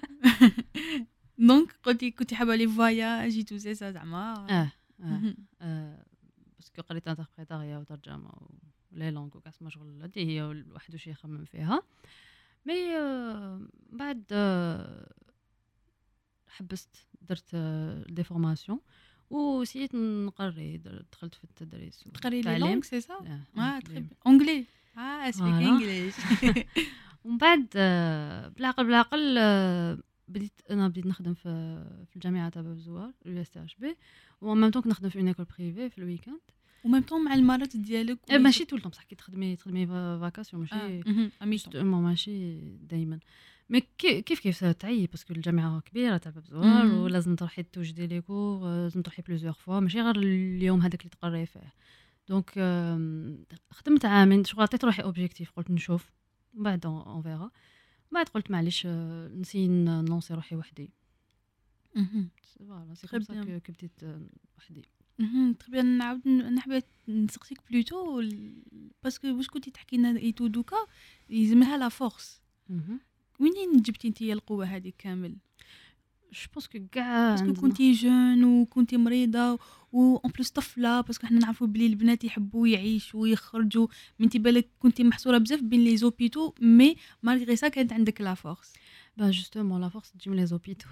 دونك قلتي كنتي حابه لي فواياج تو سي سا زعما اه اه اه باسكو قريت انتربريتاريا وترجمه ولي لونغ وكاع ما شغل هادي هي الواحد واش يخمم فيها. مي آه بعد آه حبست درت دي فورماسيون وسيت نقري در- دخلت في التدريس تقري لي والتعليم. لونغ سي سا آه، اه أنجلي. تري اونجلي اه سبيك فوالا. انجليش ومن بعد آه، بالعقل بالعقل آه، بديت انا بديت نخدم في في الجامعه تاع باب الزوار يو اس اتش بي ومام طون نخدم في اون ايكول بريفي في الويكاند. وميم طون مع المرات ديالك إيه، ماشي طول الوقت بصح كي تخدمي تخدمي فاكاسيون ماشي امي جوست اون مون ماشي دائما. مي كي- كيف كيف تعي باسكو الجامعه كبيره تاع باب الزوار مم. ولازم تروحي توجدي لي كور لازم تروحي بليزيور فوا ماشي غير اليوم هذاك اللي تقري فيه. دونك آم، خدمت عامين شغل عطيت روحي اوبجيكتيف قلت نشوف من بعد اون فيرا. بعد قلت معليش آه، نسي نلونسي روحي وحدي. فوالا سي Très كوم سا bien. كو كو بديت آه، وحدي. تخي بيان نعاود نحب نسقسيك بلوتو باسكو واش كنتي تحكي لنا ايتو دوكا يلزمها لا فورس مهم. منين جبتي انت القوه هذه كامل جو بونس كو كاع باسكو عندنا- كنتي جون وكنتي مريضه و اون بليس طفله باسكو حنا نعرفوا بلي البنات يحبوا يعيشوا ويخرجوا من انت بالك كنتي محصوره بزاف بين لي زوبيتو مي مالغري سا كانت عندك لا فورس با جوستومون لا فورس تجي من لي زوبيتو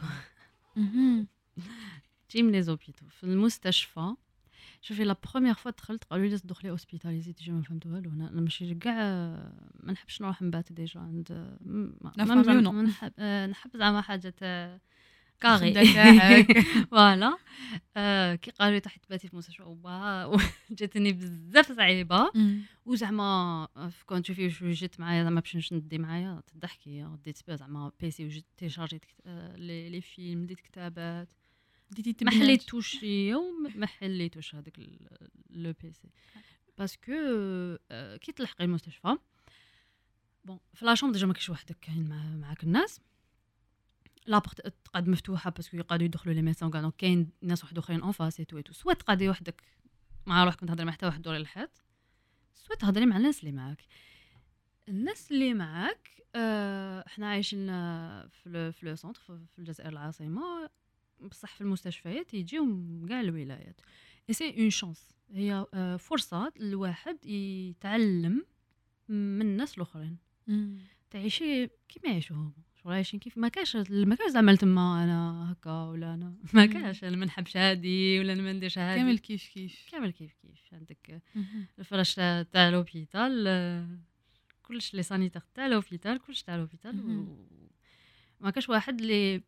تجي من لي زوبيتو في المستشفى. شوفي لا بروميير فوا دخلت قالوا لي لازم تدخلي اوسبيتاليزي تجي ما فهمت والو. انا أنا ماشي كاع ما نحبش نروح نبات ديجا عند ما لا ما فامي زعما- ونو. ما نحب آه، نحب زعما حاجه تاع كاري خدا تاعك. فوالا. آه، كي قالوا لي تحت تباتي في المستشفى وبا جاتني بزاف صعيبه وزعما آه، كون تشوفي شو جيت معايا زعما باش ندي معايا تضحكي ديت بها زعما بيسي وجيت تيشارجيت كت- آه، لي لي فيلم ديت كتابات بديتي ما تبنات. حليتوش يوم ما حليتوش هذاك لو بيسي باسكو آه، كي تلحقي المستشفى بون في لا شومبر ديجا ما كاينش وحدك كاين مع معاك الناس لابورت تقعد مفتوحه باسكو يقعدوا يدخلوا لي ميسون كاع دونك كاين ناس واحد اخرين اون فاس ايتو ايتو سوا تقعدي وحدك مع روحك تهضري مع حتى واحد دوري الحيط سوا تهضري مع الناس اللي معاك. الناس اللي معاك آه، احنا عايشين آه، في لو في لو سونتر في في الجزائر العاصمه بصح في المستشفيات يجيو من كاع الولايات اي سي اون شانس هي آه، فرصه الواحد يتعلم من الناس الاخرين تعيشي كيما يعيشوهم شغل عايشين كيف ما كاش ما كاش زعما تما انا هكا ولا انا ما كاش انا ما نحبش هادي ولا انا ما نديرش هادي كامل كيف كيف كامل كيف كيف عندك الفراش تاع تاع لوبيتال آه، كلش لي سانيتير تاع لوبيتال كلش تاع لوبيتال مهم. و- ما كاش واحد اللي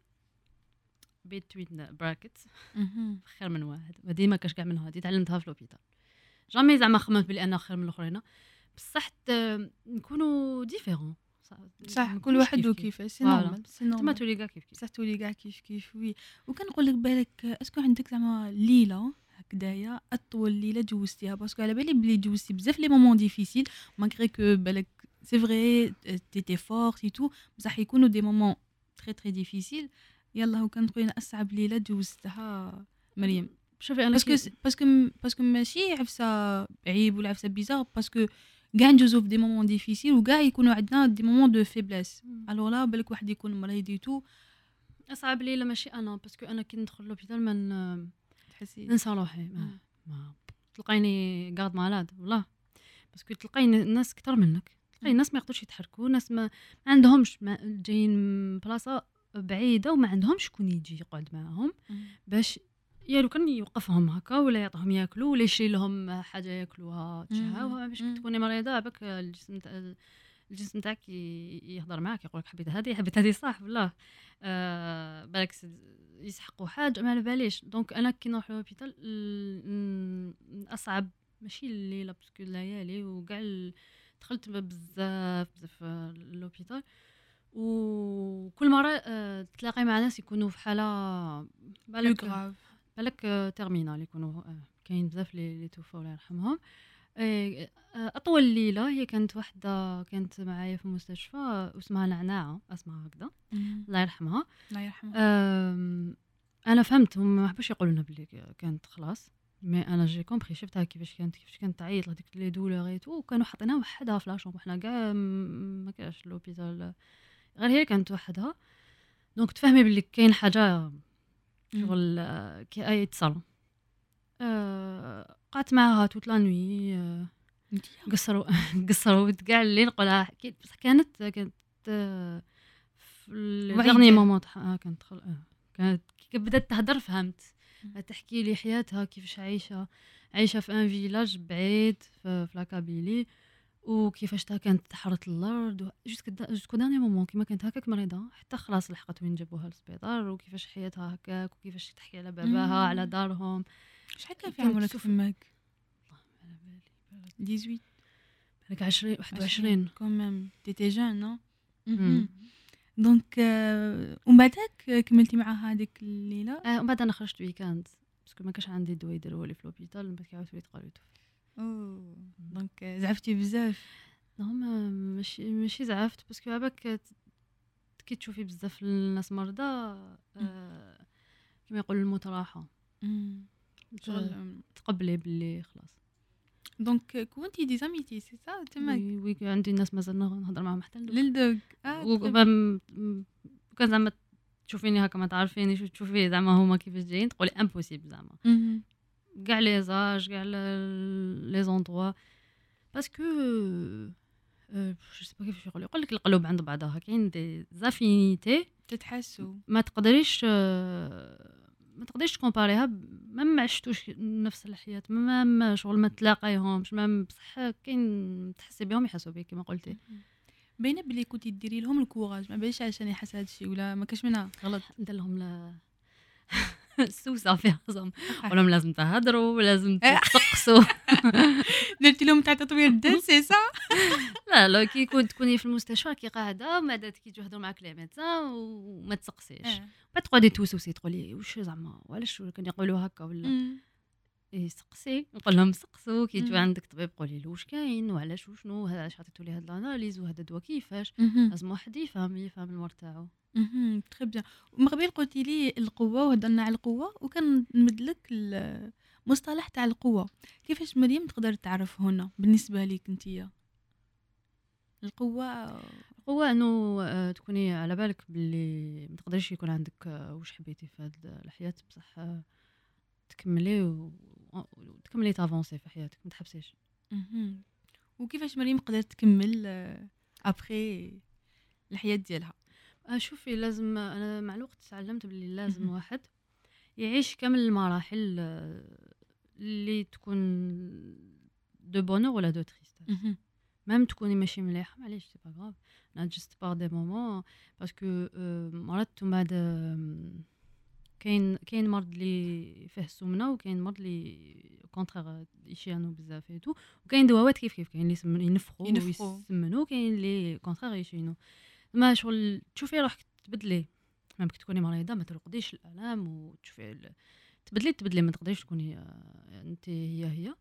بيتوين براكت خير من واحد هذه ما كاش كاع من هذه تعلمتها في لوبيتال جامي زعما خممت بلي انا خير من الاخرين بصح ت- نكونوا ديفيرون صح كل واحد وكيفاش سي نورمال سي تما نورمال تولي كاع كيف كيف بصح تولي كاع كيف كيف وي وكنقول لك بالك اسكو عندك زعما ليله هكدايا اطول ليله جوزتيها باسكو على بالي بلي جوزتي بزاف لي مومون ديفيسيل ماغري كو بالك سي فري تيتي فورت اي تو بصح يكونوا دي مومون تري تري ديفيسيل يلا وكان تقولين اصعب ليله جوزتها مريم شوفي انا باسكو باسكو باسكو ماشي عفسه عيب ولا عفسه بيزار باسكو كاع ندوزو في دي مومون ديفيسيل وكاع يكونوا عندنا دي مومون دو فيبليس الوغ لا بالك واحد يكون مريض تو اصعب لي لا ماشي انا باسكو انا كي ندخل لوبيتال من تحسي ننسى روحي ما, ما تلقيني قاعد مالاد والله باسكو تلقيني الناس اكثر منك تلقي الناس ما يقدروش يتحركوا ناس ما, ما عندهمش ما جايين من بلاصه بعيده وما عندهمش شكون يجي يقعد معاهم باش يا لو كان يوقفهم هكا ولا يعطيهم ياكلوا ولا يشري لهم حاجه ياكلوها تشهاوها باش تكوني مريضه باك الجسم تاع الجسم تاعك يهضر معاك يقولك حبيت هذه حبيت هذه صح والله آه بالك يسحقوا حاجه ما على باليش دونك انا كي نروح للهوبيتال اصعب ماشي الليله باسكو الليالي وكاع دخلت بزاف بزاف للهوبيتال وكل مره آه تلاقي مع ناس يكونوا في حاله بالك بالك تيرمينال يكونوا آه، كاين بزاف لي لي توفوا الله يرحمهم. آه، آه، اطول ليله هي كانت واحده كانت معايا في المستشفى واسمها نعناعه، اسمها هكذا الله يرحمها. الله يرحمه. آم، انا فهمت هم ما حبوش يقولوا لنا بلي كانت خلاص، مي انا جي كومبري شفتها كيفاش كانت كيفاش كانت تعيط هذيك لي دولور اي تو، وكانوا حاطينها وحدها في لاشومبر، حنا كاع م- ما كاش لوبيتال غير هي كانت وحدها. دونك تفهمي بلي كاين حاجه شغل آه، كي اي تصل. آه، قعدت معاها توت لا نوي. آه، قصروا قصروا كاع اللي نقولها حكيت، بصح كانت كانت آه، في الدغني مومون تاعها كانت خل... آه، كانت كي بدات تهضر فهمت، تحكي لي حياتها كيفاش عايشه عايشه في ان فيلاج بعيد في, في لاكابيلي، وكيفاش تا كانت تحرث الارض جوسكو جوسكو داني مومون كيما كانت هكاك مريضه حتى خلاص لحقت وين جابوها للسبيطار، وكيفاش حياتها هكاك وكيفاش تحكي على باباها على دارهم. شحال كان في عمرك تماك؟ على بالي ثمانية عشر بالك عشرين واحد وعشرين كومام تيتي جون نو. مم. دونك آه، ومن بعدك كملتي معها هذيك الليله؟ آه ومن بعد انا خرجت ويكاند باسكو ما كانش عندي دواء يديروه لي في لوبيتال، من بعد كي عاودت وليت قالوا لي اوه دونك آه، زعفتي بزاف. هما ماشي ماشي زعفت باسكو عباك كي تشوفي بزاف الناس مرضى آه كما يقولوا الموت راحه تقبلي باللي خلاص. دونك كنتي دي زاميتي سي سا تماك؟ وي وي عندي ناس مازال نهضر معاهم حتى للدوق. وكان زعما تشوفيني هكا ما تعرفيني شو تشوفي زعما هما كيفاش جايين تقولي امبوسيبل زعما كاع لي زاج كاع لي زوندروا باسكو جو سي با كيفاش يقول يقول لك القلوب عند بعضها كاين دي زافينيتي تتحسوا ما تقدريش ما تقدريش تكومباريها ما ما عشتوش نفس الحياه ما ما شغل ما تلاقايهمش ما بصح كاين تحسي بهم يحسوا بك كما قلتي. باينه بلي كنتي ديري لهم الكوراج ما باليش عشان يحس هذا الشيء ولا ما كاش منها غلط ندير لهم لا السوسه في راسهم ولهم لازم تهضروا ولازم تسقسوا درتي لهم تاع تطوير الذات سي سا. لا لا كي كنت تكوني في المستشفى كي قاعده ما دات كي تهضروا معاك لي ميدسان وما تسقسيش ما تقعدي توسوسي تقولي واش زعما وعلاش كان يقولوا هكا ولا يسقسي نقول لهم سقسوا كي تجي عندك طبيب قولي له واش كاين وعلاش وشنو هذا علاش عطيتو لي هاد الاناليز وهذا الدواء كيفاش لازم واحد يفهم يفهم المرض تاعو. اها تري بيان. ومن قبل قلتي لي القوه وهضرنا على القوه وكان نمدلك المصطلح تاع القوه كيفاش مريم تقدر تعرف هنا بالنسبه ليك انتيا القوه؟ القوه انه تكوني على بالك باللي ما تقدريش يكون عندك واش حبيتي في هذه الحياه بصح تكملي و... وتكملي تافونسي في حياتك ما تحبسيش. اها وكيفاش مريم قدرت تكمل ابري الحياه ديالها؟ شوفي لازم انا مع الوقت تعلمت باللي لازم واحد يعيش كامل المراحل اللي تكون دو بونور ولا دو تريستاس ميم تكوني ماشي مليحه معليش سي با غاف انا جست بار دي مومون باسكو مرات من بعد كاين كاين مرض اللي فيه السمنه وكاين مرض اللي كونترير يشيانو بزاف ايتو وكاين دواوات كيف كيف كاين اللي ينفخوا ويسمنوا كاين اللي كونترير يشينو ما شغل تشوفي روحك تبدلي ممكن تكوني مريضه ما ترقديش الالام وتشوفي ال... تبدلي تبدلي ما تقدريش تكوني انت هي هي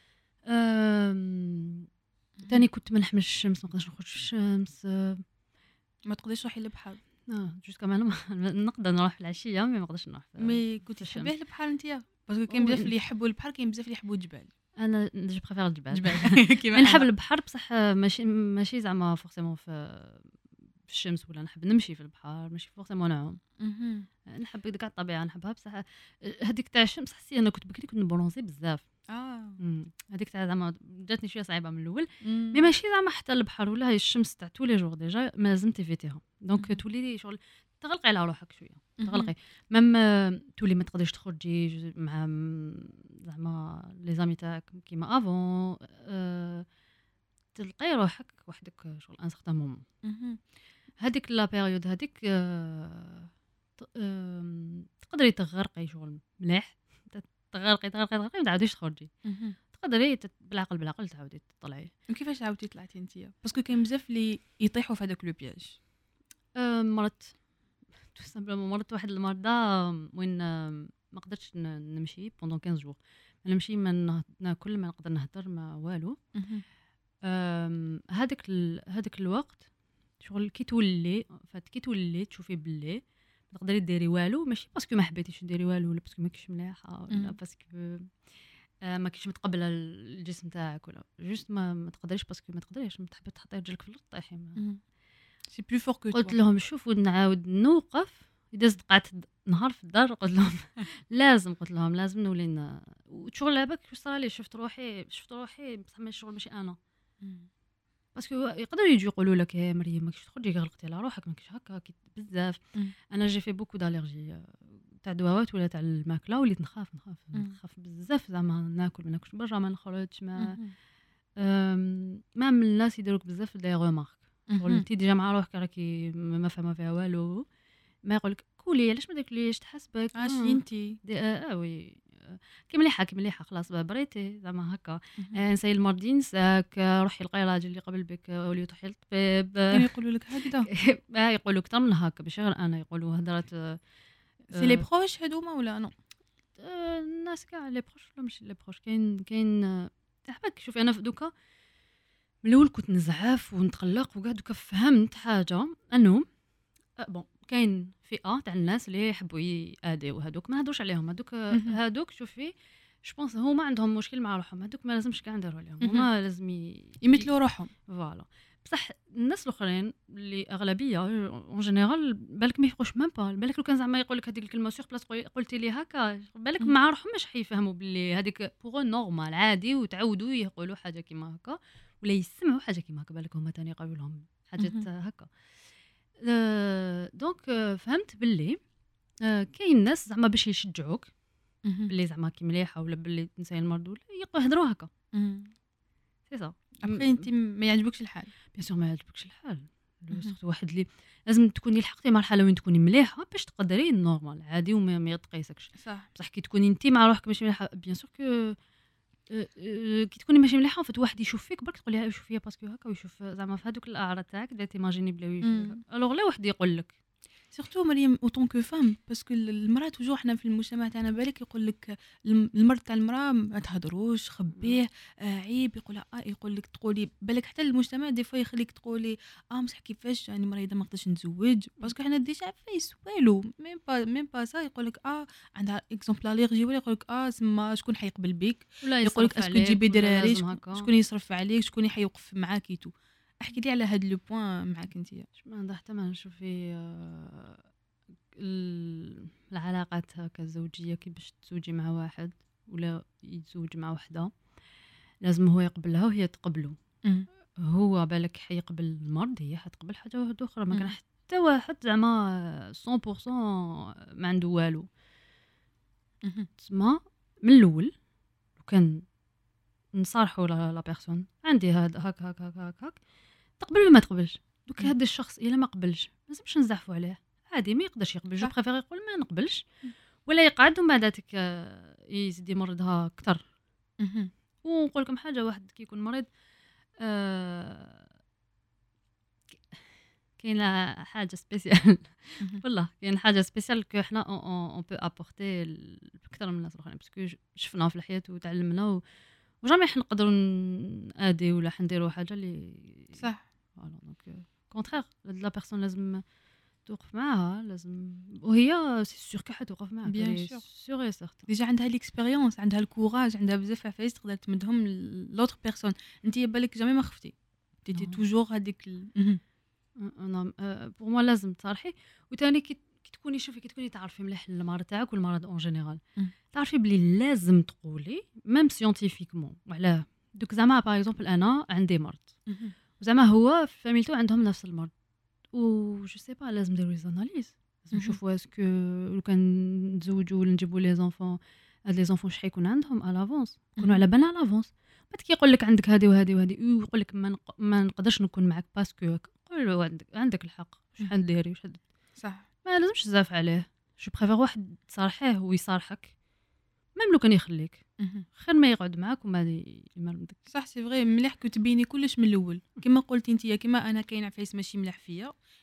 أم... تاني كنت ما نحملش الشمس ما نقدرش نخرج في الشمس ما تقدريش تروحي للبحر اه جوست كمان نقدر نروح في العشيه مي ما نقدرش نروح مي كنت تحبيه البحر انتيا باسكو كاين بزاف اللي يحبوا البحر كاين بزاف اللي يحبوا الجبال. انا جو بريفير الجبال جبال نحب البحر بصح ماشي ماشي زعما فورسيمون في في الشمس ولا نحب نمشي في البحر ماشي فورسيمون نعوم نحب كاع الطبيعه نحبها بصح هذيك تاع الشمس حسيت انا كنت بكري كنت نبرونزي بزاف اه هذيك تاع زعما جاتني شويه صعيبه من الاول مي ماشي زعما حتى البحر ولا هي الشمس تاع tous les jours ديجا ما لازم تيفيتيها دونك تولي شغل تغلقي على روحك شويه تغلقي ميم تولي ما تقدريش تخرجي مع زعما لي زامي تاعك كيما افون أه تلقاي روحك وحدك شغل ان سارتان مومون هذيك لا بيريود هذيك أه أه تقدري تغرقي شغل مليح تغرقي تغرقي تغرقي ما تعاوديش تخرجي تقدري بالعقل بالعقل تعاودي تطلعي. وكيفاش عاودتي طلعتي انتيا باسكو كاين بزاف اللي يطيحوا في هذاك لو بياج؟ أه مرت تو سامبلومون مرت واحد المرضى وين ما قدرتش ن- نمشي بوندون خمسة جور، ما نمشي، ما نه- ناكل، ما نقدر نهضر، ما والو. أم، هذاك ال- هذاك الوقت شغل كي تولي فات كي تولي تشوفي باللي ما تقدري ديري والو، ماشي باسكو ما حبيتيش ديري والو ولا باسكو ماكيش مليحه ولا مم. باسكو آه، ما كيش متقبله الجسم تاعك، ولا جوست ما, ما تقدريش باسكو ما تقدريش، ما تحبي تحطي رجلك في الارض طيحي. ما- سي بلو فور كو قلت لهم شوفوا نعاود نوقف. اذا قعدت نهار في الدار قلت لهم لازم، قلت لهم لازم نولي ن- وشغل لعبك واش صرالي، شفت روحي شفت روحي بصح ماشي شغل ماشي انا، باسكو يقدروا يجوا يقولوا لك يا مريم ماكش تخرجي غلقتي على روحك، ماكش هكا كي بزاف. مم. انا جي في بوكو داليرجي تاع دواوات ولا تاع الماكله، وليت نخاف نخاف مم. نخاف بزاف، زعما ناكل ما ناكلش برا، ما نخرجش، ما أم، ما من الناس يديروك بزاف دي غومارك، شغل انت ديجا مع روحك راكي ما ما فاهمه فيها والو، ما يقولك كولي علاش ما تاكليش تحسبك عاشي انتي دي اه, آه وي آه، كي مليحه كي مليحه خلاص بريتي زعما هكا. آه، نساي المرضي نساك، آه، روحي لقاي راجل اللي قبل بك، آه، ولي تروحي للطبيب، كانوا يقولوا لك هكذا. آه، يقولوا اكثر من هكا، ماشي غير انا، يقولوا هضرات آه، سي لي بروش هذوما ولا نو؟ آه، الناس كاع لي بروش ولا ماشي لي بروش، كاين كاين آه، تحبك. شوفي انا في دوكا من الاول كنت نزعف ونتقلق وكاع، دوكا فهمت حاجه انه أه بون كاين فئه تاع الناس اللي يحبوا ياديو، هذوك ما نهضروش عليهم، هذوك مهم. هذوك شوفي جو بونس هما عندهم مشكل مع روحهم، هذوك ما لازمش كاع نديروا عليهم، مهم. هما لازم ي- يمثلوا روحهم. فوالا. بصح الناس الاخرين اللي اغلبيه اون جينيرال بالك ما يفقوش ميم با، بالك لو كان زعما يقول لك هذيك الكلمه سيغ بلاص قلتي لي هكا، بالك مم. مع روحهم مش حيفهموا باللي هذيك بوغ نورمال عادي، وتعودوا يقولوا حاجه كيما هكا ولا يسمعوا حاجه كيما هكا، بالك هما تاني يقولوا لهم حاجات مهم. هكا. آه، دونك آه، فهمت باللي آه، كاين ناس زعما باش يشجعوك مهم. باللي زعما كي مليحه ولا باللي تنساي المرض ولا يقوا يهضروا هكا، مم. سي صا. ابخي انت ما يعجبكش الحال. بيان سور ما يعجبكش الحال، مهم. سورتو واحد اللي لازم تكوني لحقتي مرحله وين تكوني مليحه باش تقدري النورمال عادي وما ما يتقيسكش. صح. بصح كي تكوني انت مع روحك ماشي مليحه، بيان سور كو آه، آه، كي تكوني ماشي مليحه فت واحد يشوف فيك برك تقولي يشوف فيا باسكو هكا، ويشوف زعما في هذوك الاعراض تاعك دير تيماجيني بلا مم. الوغ لا واحد يقول لك سورتو مريم اوتون كو فام، باسكو المراه توجور حنا في المجتمع تاعنا بالك يقول لك الم- المرض تاع المراه ما تهضروش خبيه، آه عيب، يقول اه يقول لك تقولي بالك حتى المجتمع دي فوا يخليك تقولي اه مسح كيفاش يعني مريضه ما نقدرش نتزوج، باسكو حنا ديجا عفايس والو ميم با ميم با سا، يقول لك اه عندها اكزومبل اليرجي، ولا يقول لك اه سما شكون حيقبل بك، ولا يقول لك يصرف اسكو عليك تجيبي ولا دراري، لازم شكون- هكا. شكون يصرف عليك، شكون حيوقف معاك تو. احكي لي على هاد لو بوين معاك انت. ما عندها حتى ما نشوف في آه، ال- العلاقات هكا الزوجيه، كي باش تزوجي مع واحد ولا يتزوج مع وحده لازم هو يقبلها وهي تقبله. هو بالك حيقبل المرض، هي حتقبل حاجه واحده اخرى، ما كان مم. حتى واحد زعما مية بالمية ما عنده والو. تسمى من الاول لو كان نصارحوا لا لا بيرسون عندي هذا هاك هاك هاك هاك, هاك تقبل ولا ما تقبلش. دوك مم. هذا الشخص الا ما قبلش ما لازمش نزعفوا عليه، عادي ما يقدرش يقبل، جو صح. بريفير يقول ما نقبلش ولا يقعد ومن بعداتك آه، يزيد يمرضها اكثر. ونقول لكم حاجه، واحد كي يكون مريض آه، كاينه حاجه سبيسيال والله كاين حاجه سبيسيال كو حنا اون بو ابورتي اكثر من الناس الاخرين، باسكو شفناها في الحياه وتعلمنا و... وجامي حنقدروا نادي ولا حنديروا حاجه اللي صح. فوالا. دونك كونترير لا بيرسون لازم توقف معاها، لازم وهي سي سور كي حتوقف معاك Bien sûr. سور اي سيغتان. ديجا عندها ليكسبيريونس، عندها الكوراج، عندها بزاف عفايس تقدر تمدهم لوتر بيرسون. انت بالك جامي ما خفتي، تيتي Non. توجور هذيك ال... انا بور موا لازم تصارحي، وثاني كي كي تكوني شوفي كي تكوني تعرفي مليح المرض تاعك والمرض اون جينيرال مم. تعرفي بلي لازم تقولي ميم سيونتيفيكمون وعلاه. دوك زعما باغ اكزومبل انا عندي مرض وزعما هو في فاميلتو عندهم نفس المرض و جو سي با لازم نديرو لي زاناليز، لازم مهم. نشوفوا اسكو لو كان نتزوجوا ولا نجيبوا لي زونفون هاد لي زونفون شحال يكون عندهم على لافونس، يكونوا على بالنا على لافونس. بعد كي يقول لك عندك هذه وهذه وهذه ويقول لك ما, نق... ما نقدرش نكون معك باسكو قول له عندك عندك الحق، شحال ديري وشحال صح. ما لازمش تزاف عليه. جو بريفير واحد تصارحيه ويصارحك ميم لو كان يخليك خير ما يقعد معاك وما يمرضك. صح سي فغي، مليح كو تبيني كلش من الاول كما قلتي انت، كما انا كاين عفايس ماشي ملاح فيا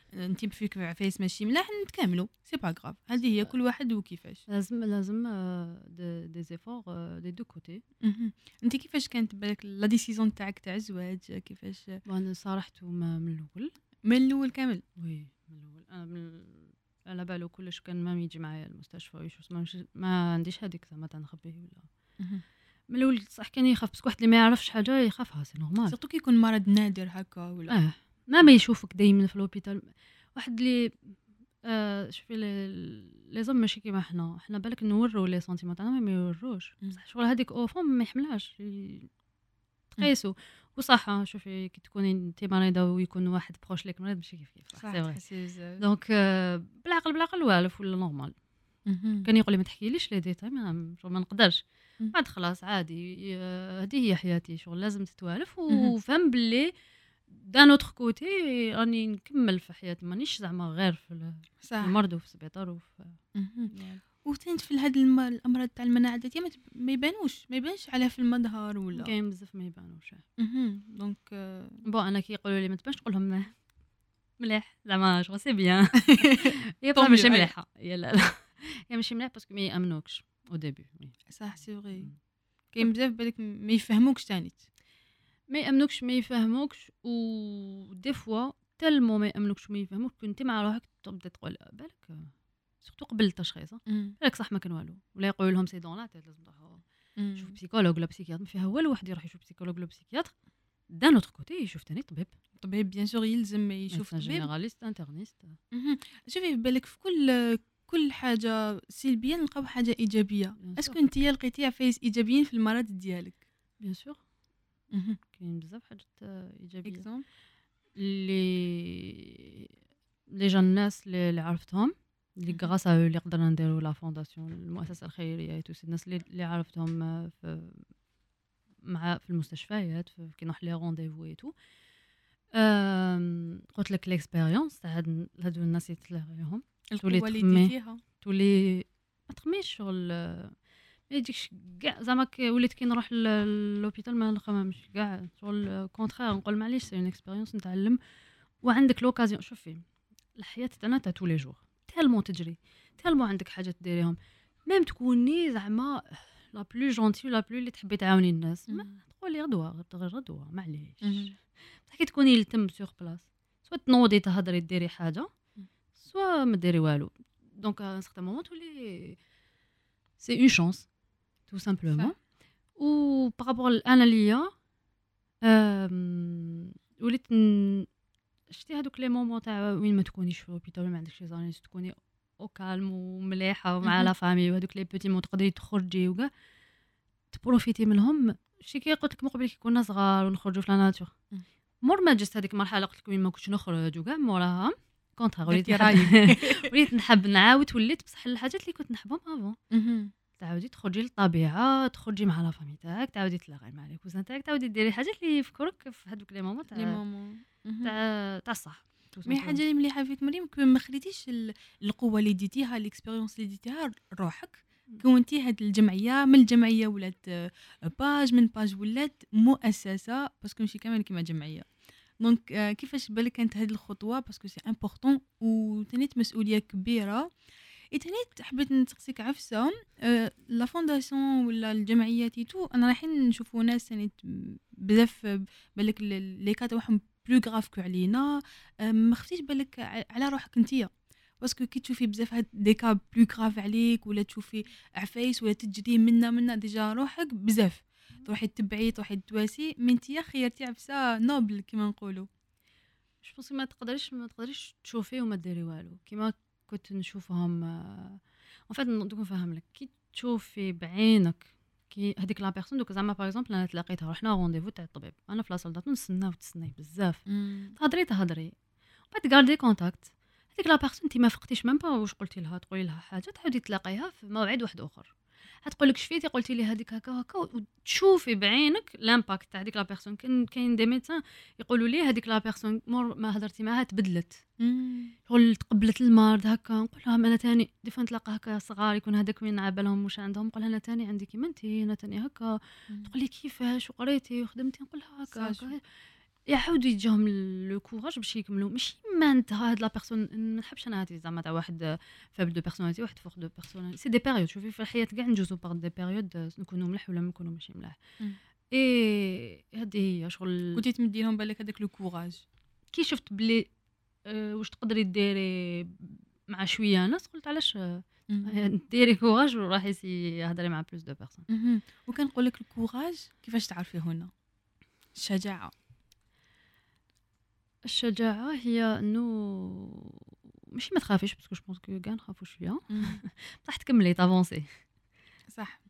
انت فيك عفايس ماشي ملاح نتكاملوا سي با غراف. هذه هي كل واحد وكيفاش. لازم لازم دي زيفور دي دو كوتي. انت كيفاش كانت بالك لا ديسيزون تاعك تاع الزواج كيفاش؟ وانا صارحته من الاول من الاول كامل. وي من الاول انا من على بالو كلش كان ما يجي معايا المستشفى ويشوف ما, ما عنديش هذيك زعما تاع نخبيه ولا من الاول صح كان يخاف بس واحد اللي ما يعرفش حاجه يخافها سي نورمال سورتو كي يكون مرض نادر هكا ولا اه ما ما يشوفك دايما في لوبيتال واحد اللي آه شوفي لي زوم ماشي كيما حنا حنا بالك نورو لي سنتيمون تاعنا ما يوروش بصح شغل هذيك او فون ما يحملهاش تقيسو وصح. شوفي كي تكوني انت مريضه ويكون واحد بروش ليك مريض ماشي كيف كيف صح دونك آه بالعقل بالعقل والف ولا نورمال. كان يقول لي ما تحكيليش لي ديتاي ما ما نقدرش بعد خلاص عادي هذه هي حياتي شغل لازم تتوالف وفهم باللي دان اوتر كوتي راني نكمل في حياتي مانيش زعما غير في المرض وفي السبيطار وفي وتنت في هاد الم... الامراض تاع المناعه الذاتيه ما, ما يبانوش ما يبانش عليها في المظهر ولا كاين بزاف ما يبانوش. دونك بون انا كي يقولوا لي ما تبانش نقول لهم مليح زعما شغل سي بيان هي ماشي مليحه يا لا لا هي ماشي مليح باسكو ما يامنوكش او ديبي. صح سي فري كاين بزاف بالك ما يفهموكش ثاني ما يامنوكش ما يفهموكش و دي فوا تالمو ما يامنوكش ما يفهموك كنت مع روحك تبدا تقول بالك سورتو قبل التشخيص بالك صح ما كان والو ولا يقولوا لهم سي دون لا تيت لازم تروحوا شوف بسيكولوج ولا بسيكياتر ما فيها والو واحد يروح يشوف بسيكولوج ولا بسيكياتر دان اوتر كوتي يشوف ثاني طبيب طبيب بيان سور يلزم يشوف طبيب جينيراليست انترنيست. شوفي بالك في كل كل حاجه سلبيه نلقاو حاجه ايجابيه. اسكو انت لقيتي عفايس ايجابيين في المرض ديالك؟ بيان سور كاين بزاف حاجات ايجابيه اللي لي جان الناس اللي عرفتهم اللي غراس ا اللي قدرنا نديروا لا فونداسيون المؤسسه الخيريه تو الناس اللي عرفتهم في مع في المستشفيات كي نروح لي رونديفو اي تو قلت لك ليكسبيريونس تاع هادو الناس يتلاقيهم القوه اللي ديتيها تولي ما تخميش شغل ما يجيكش كاع زعما وليت كي نروح للوبيتال ما نخممش كاع شغل كونترير نقول معليش سي اون اكسبيريونس نتعلم وعندك لوكازيون. شوفي الحياه تاعنا تاع تو لي جور تالمون تجري تالمون عندك حاجات ديريهم ميم تكوني زعما لا بلو جونتي ولا بلو اللي تحبي تعاوني الناس ما تقولي غدوه غير غدوه معليش بصح كي تكوني لتم سور بلاص سوا تنوضي تهضري ديري حاجه سوا ما ديري والو دونك ان سيغتان مومون تولي سي اون شانس تو سامبلومون و بارابور انا ليا وليت شتي هذوك لي مومون تاع وين ما تكونيش في لوبيتال ما عندكش لي زانيس تكوني او كالم ومليحه ومع لا فامي وهذوك لي بوتي مون تقدري تخرجي وكاع تبروفيتي منهم. شتي كي قلت لك من قبل كي كنا صغار ونخرجوا في لا ناتور مور ما جست هذيك المرحله قلت لك وين ما كنتش نخرج وكاع موراها كونتر وليت وليت نحب نعاود وليت بصح الحاجات اللي كنت نحبهم افون تعاودي تخرجي للطبيعه تخرجي مع لا فامي تاعك تعاودي تلاقي مع لي كوزان تاعك تعاودي ديري حاجات اللي يفكروك في هذوك لي مومون تاع لي مومون تاع تاع الصح. مي حاجه اللي مليحه فيك مريم ما خليتيش القوه اللي ديتيها الاكسبيريونس اللي ديتيها روحك كونتي هاد الجمعيه من الجمعيه ولات باج من باج ولات مؤسسه باسكو ماشي كامل كيما جمعيه. دونك كيفاش بالك كانت هاد الخطوه باسكو سي امبورطون وتنيت مسؤوليه كبيره. ايتنيت حبيت نسقسيك عفسه لا فونداسيون ولا الجمعيات تو انا رايحين نشوفوا ناس تنيت بزاف بالك لي كا تاعهم بلو غراف كو علينا ما خفتيش بالك على روحك نتيا باسكو كي تشوفي بزاف هاد دي كا بلو غراف عليك ولا تشوفي عفايس ولا تجري منا منا ديجا روحك بزاف تروحي تتبعي تروحي تواسي من تيا خيرتي عفسه نوبل كيما نقولوا. جو بونس ما تقدريش ما تقدريش تشوفي وما ديري والو كيما كنت نشوفهم ان فيت ندوك نفهم لك كي تشوفي بعينك كي هذيك لا بيرسون دوك زعما باغ اكزومبل انا تلاقيتها رحنا رونديفو تاع الطبيب انا في لاصال داتو نستنى وتسناي بزاف تهضري تهضري بعد غاردي كونتاكت هذيك لا بيرسون انت ما فقتيش ميم با واش قلتي لها تقولي لها حاجه تعاودي تلاقيها في موعد واحد اخر هتقول لك شفيتي قلتي لي هذيك هكا هكا وتشوفي بعينك لامباكت تاع هذيك لا بيرسون. كاين كاين دي ميدسان يقولوا لي هذيك لا بيرسون مور ما هضرتي معاها تبدلت شغل تقبلت المرض هكا نقول لها انا ثاني دي فان نتلاقى هكا صغار يكون هذاك وين عبالهم واش عندهم نقول لها انا ثاني عندي كيما انت انا ثاني هكا تقول لي كيفاش وقريتي وخدمتي نقول لها هكا يعاودوا يجيهم لو كوراج باش يكملوا. ماشي ما انت هاد لا بيرسون ما نحبش انا هادي زعما تاع واحد فابل دو بيرسوناليتي واحد فوق دو بيرسوناليتي. سي دي بيريود. شوفي في الحياه كاع نجوزو باغ دي بيريود نكونوا مليح ولا نكونوا ماشي مليح. اي هذه هي شغل. كنتي تمدي لهم بالك هذاك لو كوراج كي شفت بلي أه واش تقدري ديري مع شويه ناس قلت علاش أه ديري كوراج وراح يسي هضري مع بلوس دو بيرسون. وكنقول لك الكوراج كيفاش تعرفيه هنا؟ الشجاعه. الشجاعه هي انه ماشي ما تخافيش باسكو جو بونس كو كاع نخافوا شويه بصح تكملي تافونسي صح.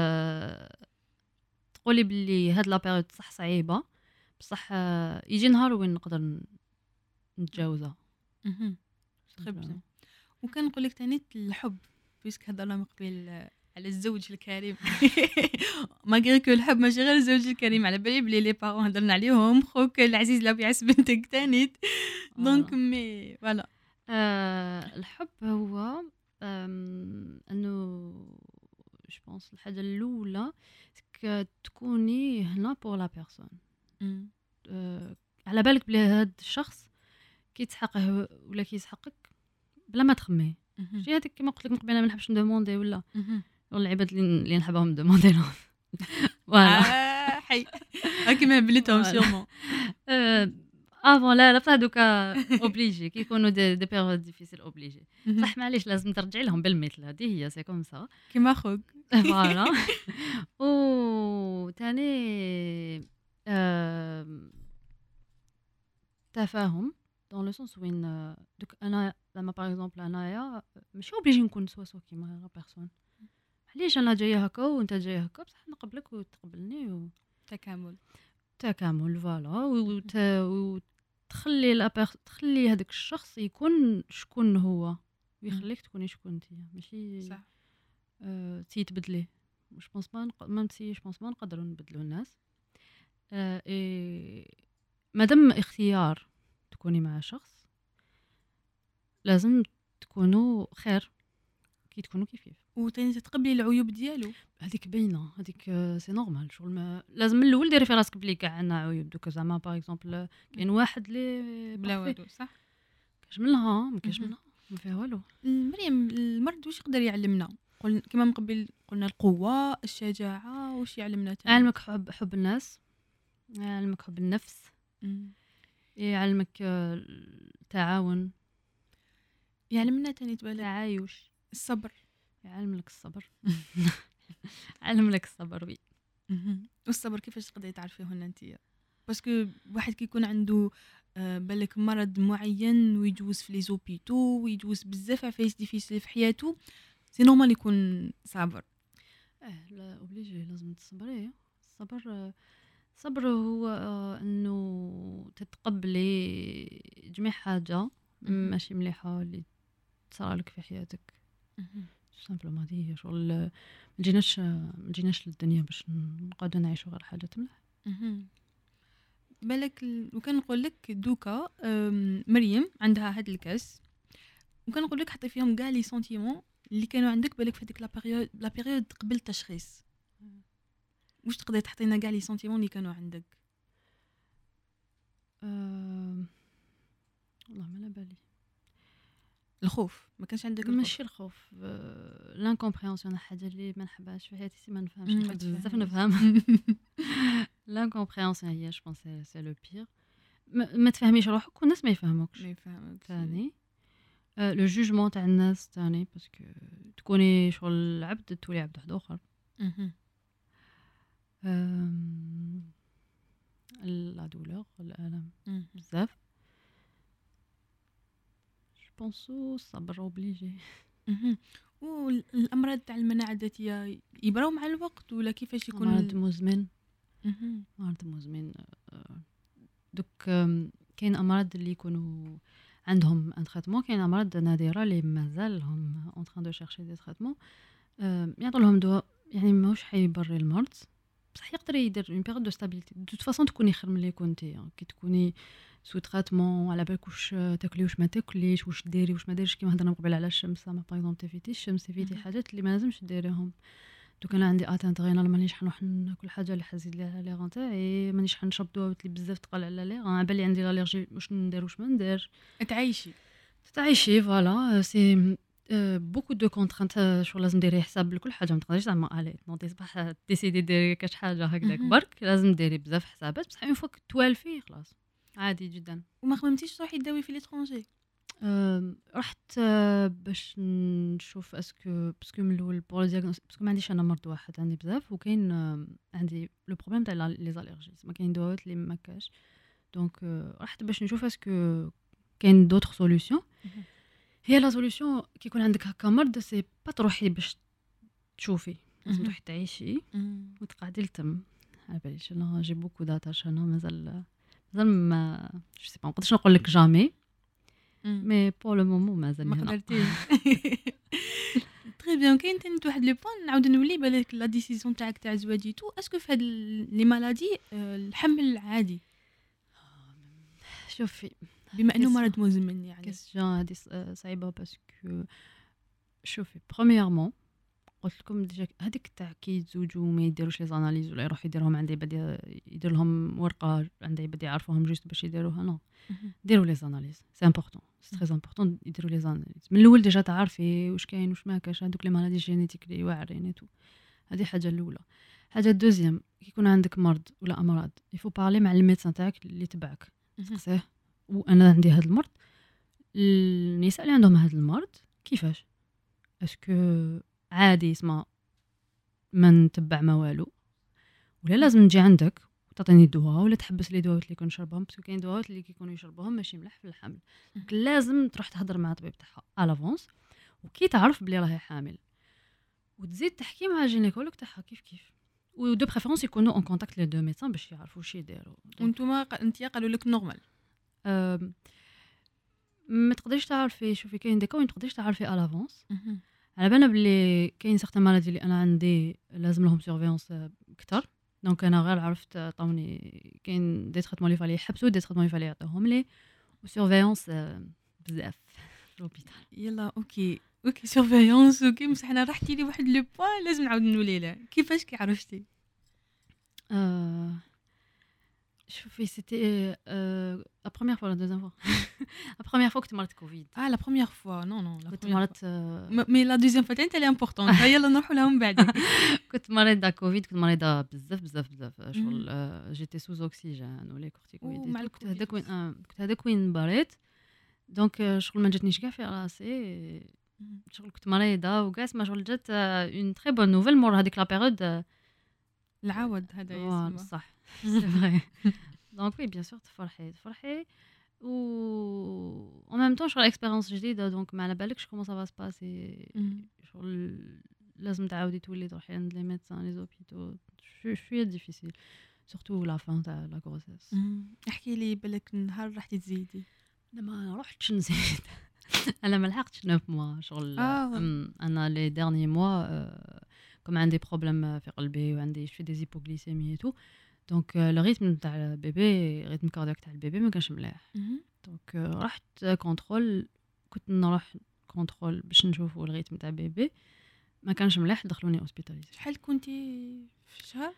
تقولي بلي هاد لا بيريود صح صعيبه بصح آه، يجي نهار وين نقدر نتجاوزها. اها تري بيان. وكنقول لك ثاني الحب بيسك هضرنا من قبل على الزوج الكريم ما غير كو الحب ماشي غير الزوج الكريم، على بالي بلي لي بارون هضرنا عليهم خوك العزيز لا بيعس بنتك ثاني دونك مي فوالا. آه الحب هو آم، انه جو بونس الحاجه الاولى تكوني هنا بور لا بيرسون. آه على بالك بلي هاد الشخص كيتحقه ولا كيسحقك بلا ما تخمي. شي هذيك كيما قلت لك من قبل انا ما نحبش ندوموندي ولا العباد اللي نحبهم ندوموندي لهم فوالا حي هاكي ما بليتهم سيرمون افون لا لا بصح دوكا اوبليجي كيكونوا دي دي بيريود ديفيسيل اوبليجي صح معليش لازم ترجعي لهم بالمثل. هذه هي سي كوم سا كيما خوك فوالا. و ثاني تفاهم دون لو سونس وين دوك انا لما باغ اكزومبل انايا ماشي اوبليجي نكون سوا سوا كيما لا بيرسون. علاش انا جايه هكا وانت جاي هكا بصح نقبلك وتقبلني و تكامل تكامل فوالا. وت... وتخلي لا بير... تخلي هذاك الشخص يكون شكون هو ويخليك تكوني شكون انت ماشي صح أه... تيتبدلي. مش بونس ما نق... ما نسيش بونس ما نقدروا نبدلوا الناس. أه... إي... مادام اختيار تكوني مع شخص لازم تكونوا خير كي تكونوا كيفيف وتاني تتقبلي العيوب ديالو. هذيك باينه هذيك سي نورمال شغل ما لازم من الاول ديري في راسك بلي كاع عندنا عيوب. دوك زعما باغ اكزومبل كاين واحد اللي بلا والو صح كاش منها ما كاش منها ما فيها والو. مريم المرض واش يقدر يعلمنا؟ قلنا كما من قبل قلنا القوه الشجاعه واش يعلمنا تاني؟ يعلمك حب حب الناس يعلمك حب النفس يعلمك التعاون يعلمنا تاني تبالك تعايش الصبر. يعلم لك الصبر علم لك الصبر وي. والصبر كيفاش تقدري تعرفيه هنا انت؟ باسكو واحد كيكون عنده آه بالك مرض معين ويجوز في لي زوبيتو ويجوز بزاف عفايس ديفيسيل في حياته سي نورمال يكون صابر. اه لا اوبليجي لازم تصبري. الصبر الصبر هو آه انه تتقبلي جميع حاجه ماشي مليحه اللي تصرالك في حياتك. سامبلومون هذه هي شغل ما جيناش ما جيناش للدنيا باش نقعدوا نعيشوا غير حاجات مليح. بالك وكان نقول لك دوكا مريم عندها هاد الكاس وكان نقول لك حطي فيهم كاع لي سنتيمون اللي كانوا عندك بالك في هذيك لا بيريود لا بيريود قبل التشخيص. واش تقدري تحطينا كاع لي سنتيمون اللي كانوا عندك؟ أه... والله ما على بالي. الخوف ما كانش عندك؟ ماشي الخوف أه... لانكومبريهنسيون حاجه اللي ما نحبهاش في حياتي ما نفهمش نحب بزاف نفهم. لانكومبريهنسيون هي جو بونس سي لو بير. ما تفهميش روحك والناس ما يفهموكش ما يفهموك ثاني. أه... لو جوجمون تاع الناس ثاني باسكو تكوني شغل عبد تولي عبد واحد اخر. لا دولور الالم بزاف جو بونسو الصبر اوبليجي. والامراض تاع المناعه الذاتيه يبراو مع الوقت ولا كيفاش يكون؟ مرض مزمن. مرض مزمن دوك كاين امراض اللي يكونوا عندهم ان تريتمون كاين امراض نادره اللي مازال هم اون تران دو شيرشي دي تريتمون يعطوا لهم دواء يعني ماهوش حيبري المرض بصح يقدر يدير اون بيريود دو ستابيليتي. دو توت فاصون تكوني خير ملي كنتي كي تكوني سو تريتمون على بالك واش تاكلي واش ما تاكليش واش ديري واش ما ديريش كيما هضرنا قبل على الشمس. زعما باغ اكزومبل تفيتي الشمس تفيتي حاجات اللي ما لازمش ديريهم دوك انا عندي اتانت غينال مانيش حنروح ناكل حاجه اللي حزيد ليها لي غان تاعي مانيش حنشرب دواء اللي بزاف تقال على لي غان بالي عندي الالرجي واش ندير واش ما ندير تعيشي تعيشي فوالا سي بوكو دو كونترانت شغل لازم ديري حساب لكل حاجه ما تقدريش زعما الي نوضي صباح ديسيدي ديري كاش حاجه هكذاك برك لازم ديري بزاف حسابات بصح اون فوا توالفي خلاص عادي جدا. وما خممتيش تروحي تداوي في ليترونجي؟ أه رحت أه باش نشوف اسكو باسكو من الاول بور دياغنوس باسكو ما عنديش انا مرض واحد عندي بزاف وكاين أه عندي لو بروبليم تاع لي زاليرجيز ما كاين دواءات اللي ما كاش دونك أه رحت باش نشوف اسكو كاين دوطخ سوليوشن. هي لا سوليوشن كي يكون عندك هكا مرض سي با تروحي باش تشوفي لازم تروحي تعيشي وتقعدي لتم على باليش انا جي بوكو داتاش انا مازال مازال ما جو سي با نقدرش نقول لك جامي مي بور لو مومون مازال ما قدرتيش. تري بيان. كاين تاني واحد لو بوين نعاود نولي بالك لا ديسيزيون تاعك تاع زواجيتو اسكو في هاد لي مالادي الحمل عادي؟ شوفي بما انه مرض مزمن يعني كيسيون هادي صعيبه باسكو شوفي برومييرمون قلت لكم ديجا هذيك تاع كي يتزوجوا ما يديروش لي زاناليز ولا يروحوا يديرهم عند عباد يدير لهم ورقه عند عباد يعرفوهم جوست باش يديروها نو ديروا لي زاناليز سي امبورطون سي تري امبورطون يديروا لي زاناليز من الاول ديجا تعرفي واش كاين واش ما كاش هذوك لي مالادي جينيتيك اللي واعرين ايتو هذه حاجه الاولى. حاجه الدوزيام كي يكون عندك مرض ولا امراض يفو بارلي مع الميدسان تاعك اللي تبعك تسقسيه وانا عندي هذا المرض النساء اللي عندهم هذا المرض كيفاش اسكو عادي اسمع ما نتبع ما والو ولا لازم نجي عندك وتعطيني دواء ولا تحبس لي دواء اللي كنشربهم باسكو كاين دواء اللي كيكونوا يشربوهم ماشي مليح في الحمل لازم تروح تهضر مع الطبيب تاعها الافونس وكي تعرف بلي راهي حامل وتزيد تحكي مع الجينيكولوج تاعها كيف كيف ودو بريفيرونس يكونوا اون كونتاكت لي دو ميدسان باش يعرفوا واش يديروا. وانتوما انت قالوا لك نورمال أه ما تقدريش تعرفي شوفي كاين ديكا وين تقدريش تعرفي الافونس على بالنا بلي كاين سيغتان مالادي اللي انا عندي لازم لهم سيرفيونس اكثر دونك انا غير عرفت عطاوني كاين دي تريتمون اللي فالي يحبسوا دي تريتمون اللي فالي يعطوهم لي وسيرفيونس بزاف في لوبيتال. يلا اوكي اوكي سيرفيونس اوكي بصح انا رحتي لي واحد لو بوين لازم نعاود نولي له كيفاش كي عرفتي؟ أه شوفي سيتي لا بروميير فوا لا دوزيام فوا لا بروميير فوا كنت مرضت كوفيد. اه لا بروميير فوا نو نو كنت مرضت مي لا دوزيام فوا تاعي امبورطون يلا نروحوا لها من بعد. كنت مريضه كوفيد كنت مريضه بزاف بزاف بزاف شغل جيتي سوز اوكسيجين ولا كورتيكويد كنت هذاك وين كنت هذاك وين بريت دونك شغل ما جاتنيش كاع في راسي شغل كنت مريضه وكاع ما شغل جات اون تري بون نوفيل مور هذيك لا بيريود العوض هذا يسمى صح سي فري دونك وي بيان سور تفرحي تفرحي و en même temps شغل اكسبيريونس جديده دونك ما على بالكش كومون سا فا سباسي شغل لازم تعاودي تولي تروحي عند لي ميدسان لي زوبيتو شويه ديفيسيل سورتو لا فان تاع لا غروسيس. احكي لي بالك نهار رحتي تزيدي؟ لا ما رحتش نزيد انا ما لحقتش تسعة موا شغل آه. انا لي ديرني موا كم عندي بروبليم في قلبي وعندي شويه دي زيبوغليسيمي تو دونك لو ريتم تاع البيبي ريتم كاردياك تاع البيبي ما كانش مليح دونك رحت كونترول كنت نروح كونترول باش نشوفوا الريتم تاع البيبي ما كانش مليح دخلوني اوسبيتاليزي. شحال كنتي في شهر؟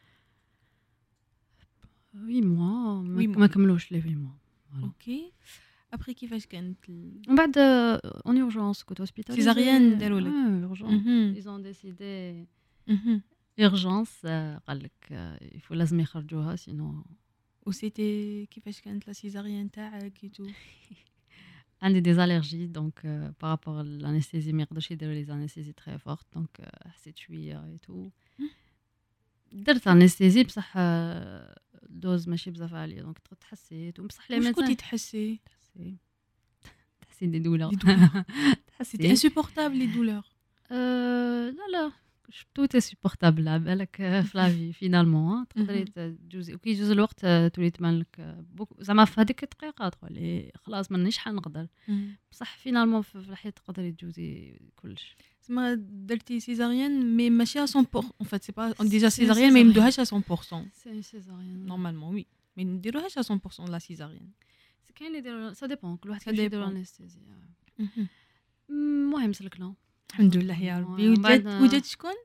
وي موا ما كملوش لي وي موا. اوكي ابري كيفاش كانت من بعد اون اورجونس كنت اوسبيتاليزي سيزاريان داروا لك اورجونس ايزون ديسيدي اورجونس قال لك يفو لازم يخرجوها سينو. وسيتي كيفاش كانت لا سيزاريان تاعك تو؟ عندي دي زاليرجي دونك بارابور لانستيزي ما يقدرش يديروا لي زانستيزي تري فورت دونك حسيت شويه اي تو درت انستيزي بصح دوز ماشي بزاف عاليه دونك تحسيت وبصح لي ميدسان كنتي تحسي تحسي تحسي دي دولور تحسي انسوبورتابل لي دولور؟ لا لا تو تي سوبورتابل على بالك في لافي فينالمون تقدري تجوزي وكي يجوز الوقت تولي تبان لك زعما في هذيك الدقيقه تقولي خلاص مانيش حنقدر بصح فينالمون في الحياه تقدري تجوزي كلش. زعما درتي سيزاريان مي ماشي مية بالمية ان فات سي با اون ديجا سيزاريان ما يمدوهاش مية بالمية سي سيزاريان نورمالمون وي مي نديروهاش مية بالمية لا سيزاريان كاين اللي يديروا سا ديبون كل واحد كيفاش يديروا انستيزي. المهم سلكنا الحمد لله يا ربي. وجات وجات شكون؟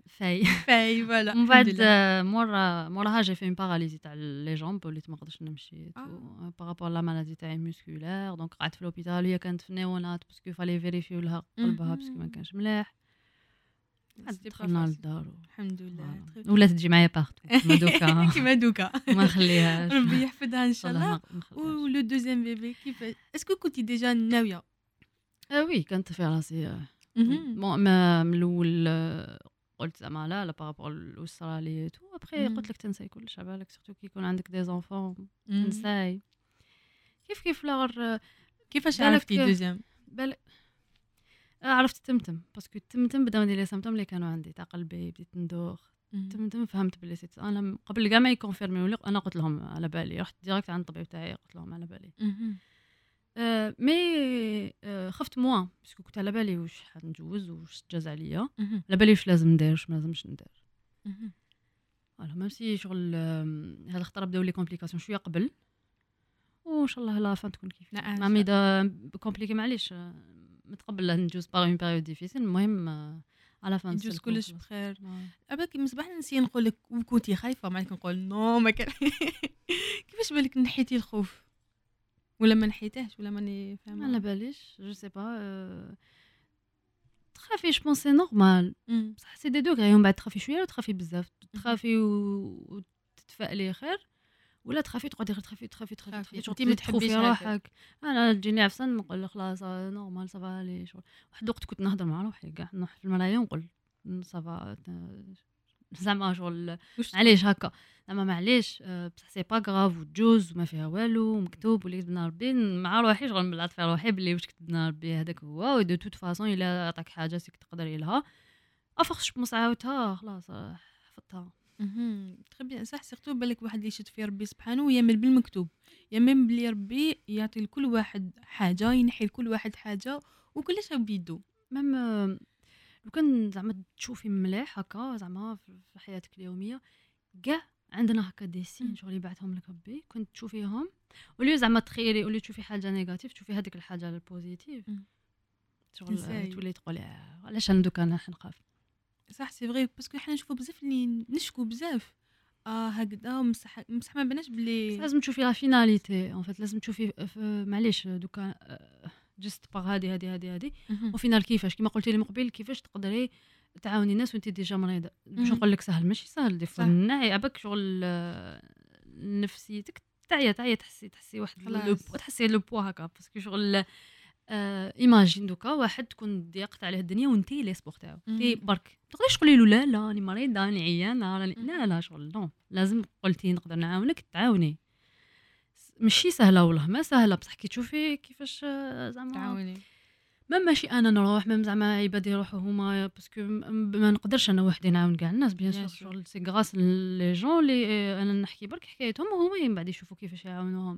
فاي فاي فوالا من الحمد بعد لله. آه، مورا موراها جي في اون باراليزي تاع لي جامب وليت ما نقدرش نمشي آه. بارابور لا مالادي تاعي مسكولير. دونك قعدت في لوبيتال. هي كانت في النيونات باسكو فالي فيريفيو لها قلبها باسكو ما مهم. كانش مليح. عاد C'était pas دخلنا facile. للدار و- الحمد لله. فوالا. ولات تجي معايا بارتو كيما دوكا كيما دوكا ما نخليهاش ان ربي يحفظها ان شاء شاء الله الله. ما نخليهاش. ولو دوزيام بيبي كيف اسكو كنتي ديجا ناويه؟ آه وي كانت في راسي آه، مهم. بون ما من الاول آه، قلت زعما لا لا بارابور الاسره لي تو ابخي مم. قلت لك تنساي كلش على بالك سورتو كي يكون عندك دي زونفون مم. تنساي كيف كيف لا غير كيفاش بالك- عرفتي دوزيام؟ بالك آه، عرفت التمتم باسكو التمتم بداو يدير لي سيمبتوم اللي كانوا عندي تاع قلبي بديت ندوخ التمتم فهمت بلي سيت انا م- قبل كاع ما يكونفيرميو لي انا قلت لهم على بالي رحت ديريكت عند الطبيب تاعي قلت لهم على بالي مهم. آه، مي آه، خفت موان باسكو كنت على بالي واش حنجوز واش تجاز عليا مهم. على بالي واش لازم ندير واش ما لازمش ندير مهم. فوالا ميم سي شغل آم، هاد الخطره بداو لي كومبليكاسيون شويه قبل وان شاء الله لا فان تكون كيف لا، إن مع شاء ميدا كومبليكي معليش آه، متقبل لا ندوز باغ اون بيريود ديفيسيل المهم آه، على فان يجوز نسلكو كلش خلاص. بخير. آه. أباك مصباح نسي نقول لك وكنتي خايفه معك نقول نو ما كان كيفاش بالك نحيتي الخوف ولا ما نحيتهش ولا ماني ما على فاهمه؟ باليش جو سي با تخافي جو بونس سي نورمال مم. بصح سي دي دوغري ومن بعد تخافي شويه وتخافي بزاف تخافي و- وتتفائلي خير ولا تخافي تقعدي غير تخافي تخافي تخافي تخافي. تخافي شغل أنتي ما تزيد تخوفي تحبيش هكا. روحك. انا تجيني عفسه نقول لك خلاص آه، نورمال صافا لي شغل واحد الوقت كنت نهضر مع روحي كاع نروح في المرايه ونقول صافا زعما شغل واش تقول؟ معليش هكا زعما معليش آه، بصح سي با غراف وتجوز وما فيها والو مكتوب واللي كتبنا ربي مع روحي شغل نبلعت في روحي بلي واش كتبنا ربي هذاك هو ودو توت فاصون الا عطاك حاجه سيك تقدري لها افخش بمص عاودتها خلاص آه، حفظتها. اهم، تري بيان صح سيرتو بالك واحد اللي يشد في ربي سبحانه ويامن بالمكتوب، يامن بلي ربي يعطي لكل واحد حاجة ينحي لكل واحد حاجة وكلش بيدو. ميم آه، لو كان زعما تشوفي مليح هكا زعما في في حياتك اليوميه كاع عندنا هكا دي مم. سين شغل يبعثهم لك ربي كنت تشوفيهم ولي زعما تخيري ولي تشوفي حاجه نيجاتيف تشوفي هذيك الحاجه البوزيتيف مم. شغل تنساي. آه، تولي تقولي آه، علاش انا دوكا انا نخاف. صح سي فري باسكو حنا نشوفو بزاف اللي نشكو بزاف اه هكذا مسح مسح ما بناش بس بلي لازم تشوفي لا فيناليتي ان فيت لازم تشوفي ف- معليش دوكا آه، جست باغ هادي هادي هادي هادي مهم. او فينال كيفاش كيما قلتي لي من قبل كيفاش تقدري تعاوني الناس وانت ديجا مريضه باش مم. نقول لك سهل ماشي سهل دي فوا صح. نعي عباك شغل آه، نفسيتك تعيا تعيا تحسي تحسي واحد لو خلاص. بو- تحسي لو بوا هكا باسكو شغل آه ايماجين دوكا واحد تكون ضيقت عليه الدنيا وانتي لي سبور تاعو انتي مم. برك ما تقدريش تقولي له لا لا راني مريضه راني عيانه راني مم. لا لا شغل نو لازم قلتي نقدر نعاونك تعاوني س- ماشي سهله والله ما سهله بصح كي تشوفي كيفاش آه، زعما تعاوني. ما ماشي انا نروح ما زعما عباد يروحوا هما باسكو م- ما نقدرش انا وحدي نعاون كاع الناس بيان Bien سور sûr. شغل سي غراس لي جون اللي آه، انا نحكي برك حكايتهم وهما من بعد يشوفوا كيفاش يعاونوهم.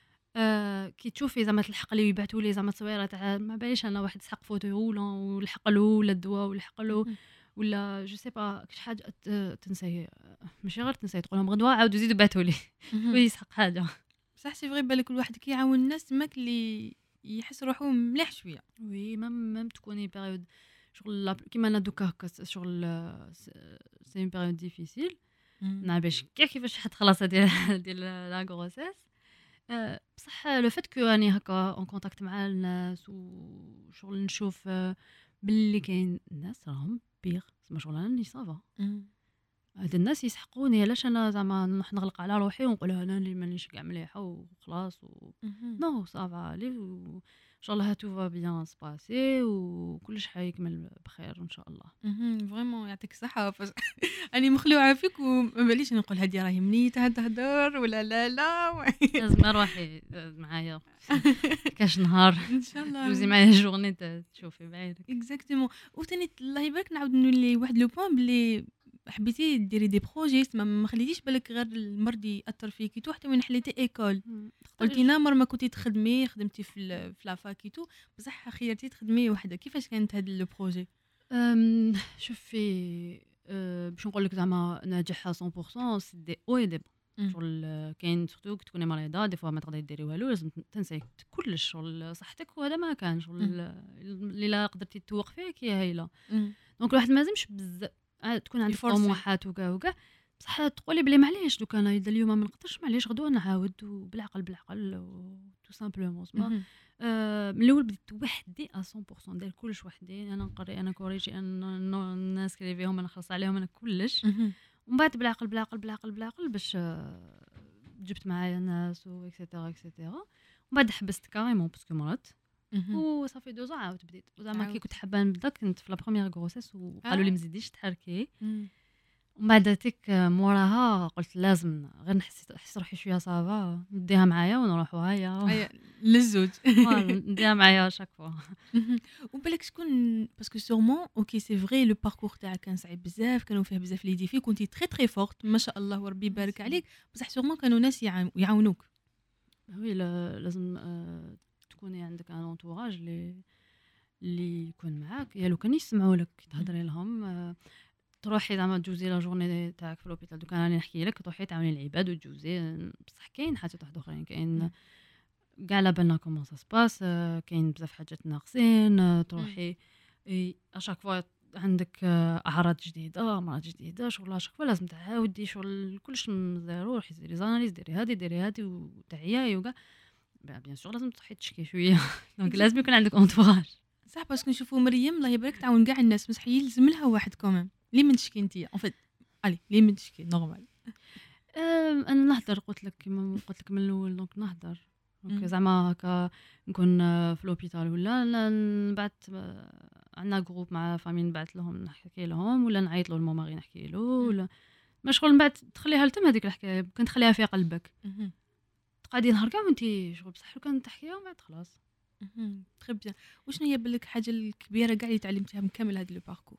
آه كي تشوفي زعما تلحق لي يبعثوا لي زعما تصويره تاع ما باليش انا واحد سحق فوتو رولون ولحق له ولا الدواء ولحق له مهم. ولا جو سي با كش حاجه ت- تنسي ماشي غير تنسي تقول لهم غدوه عاودوا زيدوا بعثوا لي مهم. ويسحق حاجه. صح سي فري بالك كل واحد كي يعاون الناس تماك اللي يحس روحو مليح شويه. وي ميم ميم تكوني بيريود شغل لا- كيما انا دوكا هكا س- شغل سي اون بيريود ديفيسيل نعم باش كاع كيفاش حتخلص ديال ديال لا غروسيس. آه، بصح لو فات كو راني هكا اون كونتاكت مع الناس وشغل نشوف آه، باللي كاين ناس راهم بيغ زعما شغل راني صافا مم. هاد الناس يسحقوني علاش انا زعما نروح نغلق على روحي ونقول انا اللي مانيش كاع مليحه وخلاص و... مهم. نو صافا لي و... ان شاء الله تو فا بيان سباسي وكلش حيكمل بخير ان شاء الله. مهم. فريمون يعطيك الصحة فاش أنا مخلوعة فيك وما باليش نقول هادي راهي منيتها تهدر ولا لا لا لازم روحي معايا كاش نهار إن شاء الله دوزي معايا جورني ت- تشوفي بعينك. اكزاكتومون وثاني الله يبارك نعاود نولي واحد لو بوين بلي حبيتي ديري دي بروجي ما ما خليتيش بالك غير المرض ياثر فيكي تو حتى وين حليتي ايكول قلتي نامر ما كنتي تخدمي خدمتي في ال- في لافاكيتو بصح خيرتي تخدمي وحده كيفاش كانت هاد لو بروجي؟ أم، شوفي أه، باش نقول لك زعما ناجحها مية بالمية سي دي او اي دي بون شغل أه، كاين سورتو كي تكوني مريضه دي فوا ما تقدري ديري والو لازم تنسي كلش شغل صحتك وهذا ما كان شغل اللي لا قدرتي توقفيه كي هايله دونك الواحد ما لازمش بزاف آه، تكون عندك يفرصي. طموحات وكاع وكاع، بصح تقولي بلي معليش دوك انا اذا اليوم ما نقدرش معليش غدوه نعاود وبالعقل بالعقل تو سامبلومون زعما. مهم. آه، من الاول بديت وحدي مية بالمية ندير كلش وحدي، انا نقري انا كوريجي انا الناس كريفيهم انا نخلص عليهم انا كلش، مهم. ومن بعد بالعقل بالعقل بالعقل بالعقل باش آه، جبت معايا ناس و اكسيتيرا اكسيتيرا، ومن بعد حبست كاريمون باسكو مرضت مهم. وصافي دوزا عاود بديت. وزعما كي عاود. كنت حابه نبدا كنت في لا بروميير غروسيس وقالوا لي آه. مزيديش تحركي، مم. ومن بعد تيك موراها قلت لازم غير نحس نحس روحي شويه صافا نديها معايا ونروحوا هيا أي للزوج. فوالا نديها معايا شاك فوا. مهم. وبالك شكون باسكو سورمون اوكي سي فري لو باركور تاعك كان صعيب بزاف، كانوا فيه بزاف لي ديفي، كنتي تري تري فورت ما شاء الله وربي يبارك عليك، بصح سورمون كانوا ناس يعاون- يعاونوك. وي لا- لازم آه، تكوني عندك ان انتوراج اللي اللي يكون معاك، يا لو كان يسمعوا لك كي تهضري لهم. آه، تروحي زعما تجوزي لا جورني تاعك في لوبيتال، دوك انا راني نحكي لك تروحي تعاوني العباد وتجوزي. آه، بصح كاين حاجات واحد اخرين، كاين كاع على بالنا كومون سا سباس، كاين بزاف حاجات ناقصين. آه، تروحي اشاك فوا عندك آه، اعراض جديده امراض جديده، شغل اشاك فوا لازم تعاودي شغل كلش من زيرو، روحي ديري زاناليز ديري هادي ديري هادي وتعياي وكاع. بيان سور لازم تروحي تشكي شويه دونك لازم يكون عندك انتوراج. صح باسكو نشوفوا مريم الله يبارك تعاون كاع الناس، بصح يلزم لها واحد كومام لي من تشكي انت اون فيت الي لي من تشكي نورمال. أم، انا نهضر قلت لك كيما قلت لك من الاول، دونك نهضر دونك مم. زعما هكا نكون آه، في لوبيتال ولا ن- نبعث آه، عندنا جروب مع فامي نبعث لهم نحكي لهم، ولا نعيط له الماما غير نحكي له، ولا ما شغل من بعد تخليها لتم هذيك الحكايه، كنت تخليها في قلبك مهم. تقعدي نهار كاع وانت شغل بصح لو كان تحكيها ومن بعد خلاص. مهم. تري بيان. وشنو هي بالك حاجه الكبيره كاع اللي تعلمتيها من كامل هذا لو باركور؟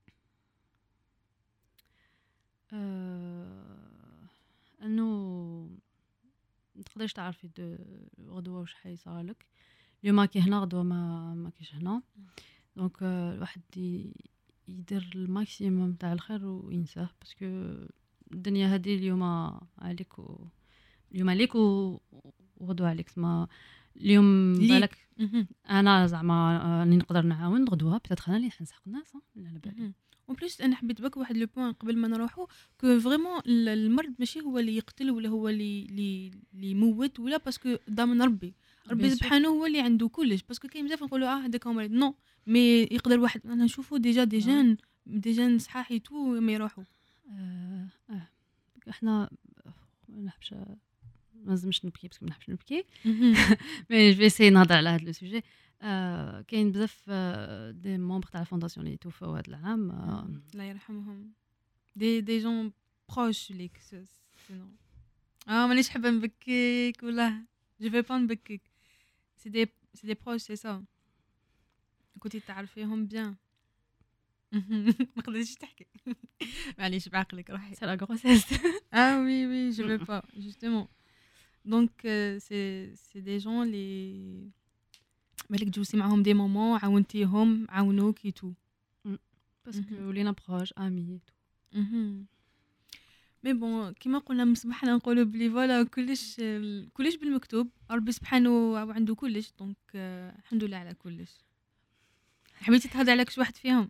آه، انه ما تقدريش تعرفي دو غدوه واش حيصرالك، اليوم كي هنا غدوه ما ما كيش هنا، دونك آه، الواحد ي- يدير الماكسيموم تاع الخير وينساه، باسكو الدنيا هذه اليوم عليك و... اليوم عليك و... وغدوه عليك. ما اليوم ليك. بالك مهم. انا زعما آه، راني نقدر نعاون غدوه بيتيتر انا اللي حنسحق الناس آه، لا على بالي. مهم. اون بليس انا حبيت بك واحد لو بوين قبل ما نروحو كو فريمون المرض ماشي هو اللي يقتل ولا هو اللي اللي اللي يموت ولا باسكو ضامن ربي ربي Bien sûr. سبحانه هو اللي عنده كلش، باسكو كاين بزاف نقولوا اه هذاك هو مريض نو مي يقدر واحد انا نشوفو ديجا دي آه. جان دي جان صحاح تو ما يروحوا. آه، آه. احنا ما نحبش ما لازمش نبكي باسكو ما نحبش نبكي، مي جو سي نهضر على هذا لو سوجي. آه، كاين بزاف آه، دي ممبر تاع الفونداسيون اللي توفاو هذا العام. آه، الله يرحمهم دي دي جون بروش ليك سينو اه مانيش حابه نبكيك ولا جو في با نبكيك سي دي سي دي بروش سي سا كنتي تعرفيهم بيان. ما قدرتيش تحكي معليش بعقلك روحي. سي لا غروسيس. Ah oui, oui, je veux pas, justement. Donc, euh, c'est, c'est des gens les... بالك جوزتي معاهم دي مومون عاونتيهم عاونوك et tout. باسكو مهم. ولينا بروج امي. مهم. مي بون كيما قلنا من صباحنا نقولوا بلي فوالا كلش ال- كلش بالمكتوب ربي سبحانه عنده كلش دونك آه، الحمد لله على كلش. حبيتي تهضري على كش واحد فيهم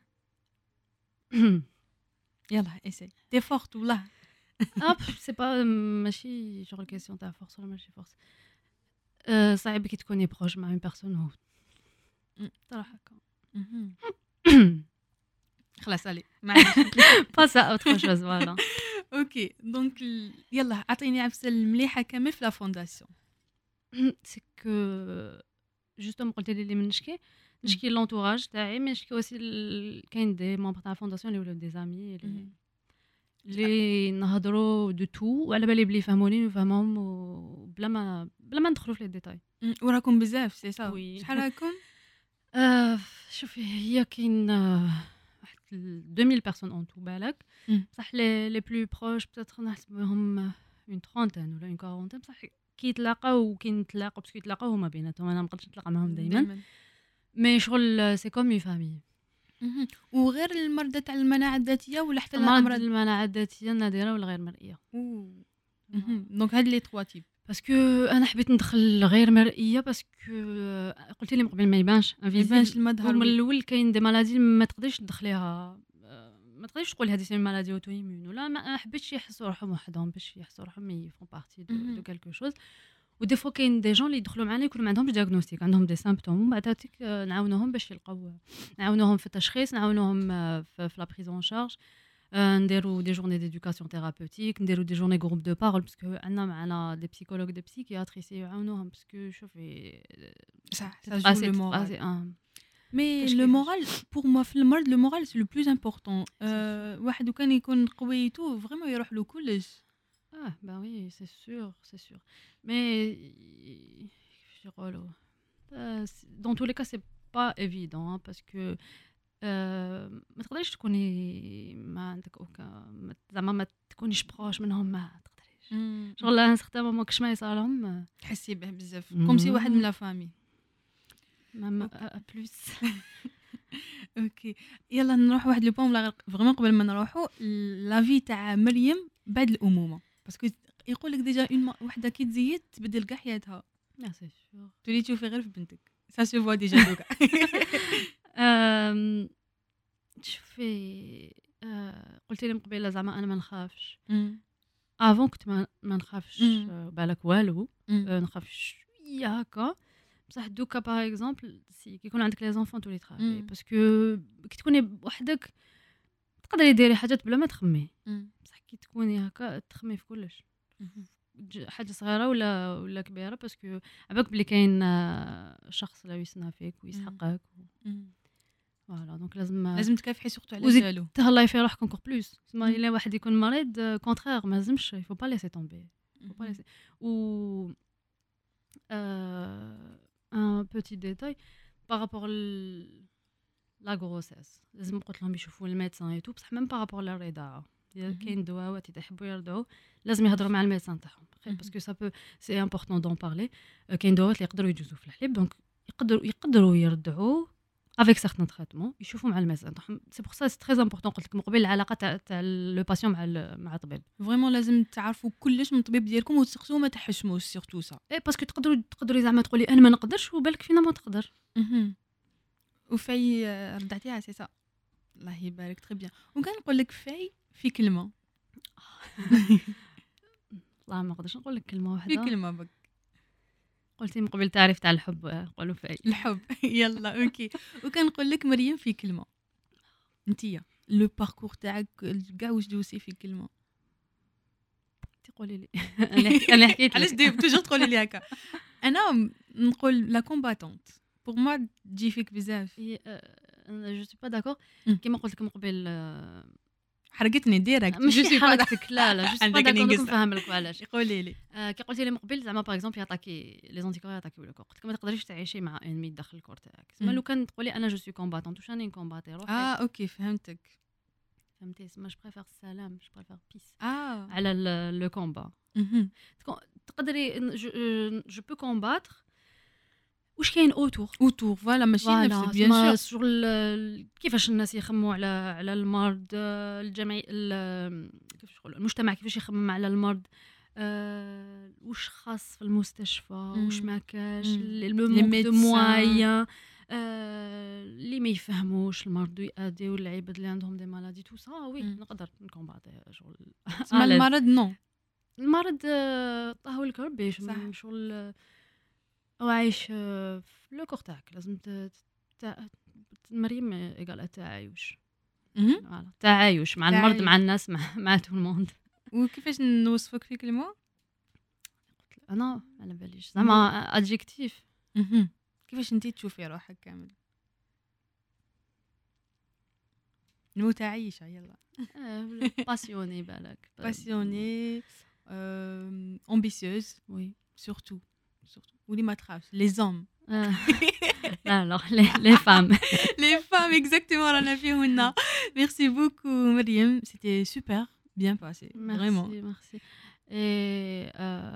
يلا اسي تي فورت والله. اب سي با ماشي شغل كيسيون تاع فورس ولا ماشي فورس. آه، صعيب كي تكوني بروج مع اون بيرسون هو مم. صراحه هكا. مهم. خلاص علي معليش. باس ا اوتر شوز فوالا. اوكي دونك ال- يلا اعطيني عفسه المليحه كامل في لا فونداسيون. سي كو جوستومون قلت لي اللي من نشكي نشكي لونتوراج تاعي، مي نشكي اوسي ال- كاين دي ممبر تاع الفونداسيون اللي ولاو دي زامي اللي مهم. اللي نهضروا دو تو وعلى بالي بلي يفهموني ونفهمهم وبلا ما بلا ما ندخلوا في لي ديتاي. مم، وراكم بزاف سي سا وي. شحال راكم؟ آه، شوفي هي كاين آه، واحد ألفين بيرسون اون تو بالك، مم. بصح لي لي بلو بروش بتاتر نحسبهم اون ترونتين ولا اون كارونتين، بصح كي يتلاقاو وكي نتلاقاو باسكو يتلاقاو هما بيناتهم انا ما نقدرش نتلاقى معاهم دائما، مي شغل سي كوم اون فامي. مهم. وغير المرضى تاع المناعه الذاتيه ولا حتى مرض الامراض؟ المناعه الذاتيه النادره ولا غير مرئيه، أوه. مهم. دونك هاد لي تخوا تيب. باسكو انا حبيت ندخل غير مرئيه باسكو قلت لي من قبل ما يبانش ما يبانش المظهر من وي. الاول كاين دي مالادي ما تقدريش تدخليها، آه، ما تقدريش تقول هذه سي مالادي اوتو ايمون ولا ما حبيتش يحسوا روحهم وحدهم باش يحسوا روحهم يفون بارتي دو دو كالكو شوز. ودي فوا كاين دي جون اللي يدخلوا معنا يكونوا ما عندهمش دياغنوستيك عندهم دي سيمبتوم ومن بعد هذيك نعاونوهم باش يلقاو نعاونوهم في التشخيص نعاونوهم في لا بريزون شارج نديروا دي جورني ديدوكاسيون ثيرابوتيك نديروا دي جورني جروب دو بارول باسكو عندنا معنا دي بسيكولوج دي بسيكياتريس يعاونوهم باسكو شوفي صح ça joue le moral. Mais كاش le كيفاش. moral, pour moi, في المرض le moral c'est le plus important. Euh, واحد وكان يكون قوي تو vraiment يروح له كلش. Ah, bah oui, c'est sûr, c'est sûr. Mais, je dirais, euh, c'est- dans tous les cas, c'est pas évident hein, parce que euh, ما تقدريش تكوني ما عندك اوكا ما- زعما ما تكونيش بروش منهم ما تقدريش شغل ان سختام ما كش ما يصالهم تحسي به بزاف مم. كوم سي واحد من لا فامي. ما بلوس. اوكي يلا نروح واحد لو بون فريمون قبل ما نروحوا لا في تاع مريم بعد الامومه باسكو يقول لك ديجا اون وحده كي تزيد تبدل كاع حياتها لا سي سور. تولي تشوفي غير في بنتك سا سو فوا ديجا دوكا. أم، شوفي آه، قلتي لي من قبيله زعما انا ما نخافش افون كنت ما ما نخافش مم. آه، بالك والو آه، نخاف شويه هكا بصح دوكا باغ اكزومبل سي كيكون عندك لي زونفون تولي تخافي مم. باسكو كي تكوني بوحدك تقدري ديري حاجات بلا ما تخمي بصح كي تكوني هكا تخمي في كلش ج- حاجه صغيره ولا ولا كبيره باسكو عباك بلي كاين آه، شخص لا يسنى فيك ويسحقك فوالا دونك لازم لازم تكافحي سورتو على وزيد جالو. تهلاي في روحك انكور بلوس تسمى مم. الا واحد يكون مريض كونترير ما لازمش يفو با ليسي تومبي faut pas laisser. Ou euh, un petit détail par rapport à la grossesse. لازم قلت لهم يشوفوا الميدسان اي تو بصح ميم par rapport للرضاعه اذا كاين دواوات اذا يحبوا يرضعوا لازم يهضروا مع الميدسان تاعهم باسكو سا بو سي امبورطون دون بارلي. كاين دواوات اللي يقدروا يجوزوا في الحليب دونك يقدروا يقدروا يرضعوا avec certains traitements يشوفوا مع الميدسان تاعهم. سي بور سا سي تري امبورطون قلت لك من قبل العلاقه تاع تاع لو باسيون مع ال- مع الطبيب. فريمون لازم تعرفوا كلش من الطبيب ديالكم وتسقسوه ما تحشموش سورتو سا. اي باسكو تقدروا تقدروا زعما تقولي انا ما نقدرش وبالك فينا ما تقدر. وفاي آه، رضعتيها سي سا الله يبارك تري بيان. وكان نقول لك فاي في كلمه والله ما نقدرش نقول لك كلمه في واحده. كلمه بك قلتي من قبل تعريف تاع الحب قولوا في الحب. يلا اوكي. وكان نقول لك مريم في كلمه انتيا لو باركور تاعك كاع واش دوسي في كلمه. تقولي لي انا انا حكيت علاش لك. دي توجور تقولي لي هكا. انا نقول لا كومباتونت بور موا تجي فيك بزاف. هي انا جو سي با داكور مم. كيما قلت لك من قبل آه، حرقتني ديريكت ماشي حركتك لا لا جو سي با عندك داكور نقص. نفهم لك علاش. قولي لي. آه، كي قلتي لي من قبل زعما باغ اكزومبل يعطاكي لي زونتيكور يعطاكي ولا قلت لك ما تقدريش تعيشي مع انمي داخل الكور تاعك. مم. تسمى لو كان تقولي انا جو سي كومباتونت واش راني نكومباتي روحي اه اوكي فهمتك. فهمتي تسمى جو بريفير السلام جو بريفير بيس اه على لو كومبا. مهم. تقدري جو بو كومباتر واش كاين اوتور اوتور فوالا ماشي فوالا نفس بيان سور. شغل كيفاش الناس يخموا على على المرض آه، الجمعي ال- كيفاش نقولوا المجتمع كيفاش يخمم على المرض آه، واش خاص في المستشفى واش مم. ما كاش مم. لو لي مونك دو médecins. موايان اللي ما يفهموش المرض ويأديو العباد اللي عندهم دي مالادي تو سا وي مم. نقدر نكومباتي شغل تسمى à l'aise. المرض نو. المرض آه، طاهو لك ربي صح. ش- شغل آه، هو عايش آه، في لو كور تاعك لازم ت- تع- مريم ايغال التعايش مهم. فوالا تعايش مع المرض تعايش. مع الناس مع مع تو الموند. وكيفاش نوصفك في كلمه؟ انا على باليش زعما ادجيكتيف مهم. كيفاش انتي تشوفي روحك كامل؟ متعايشه يلا. باسيوني بالك باسيوني امبيسيوز وي سورتو سورتو ولي ما تخافش لي زوم آه، لا لا لي فام. لي فام اكزاكتومون رانا فيهن. ميرسي بوكو مريم سيتي سوبر بيان باسي فريمون. ميرسي ميرسي اي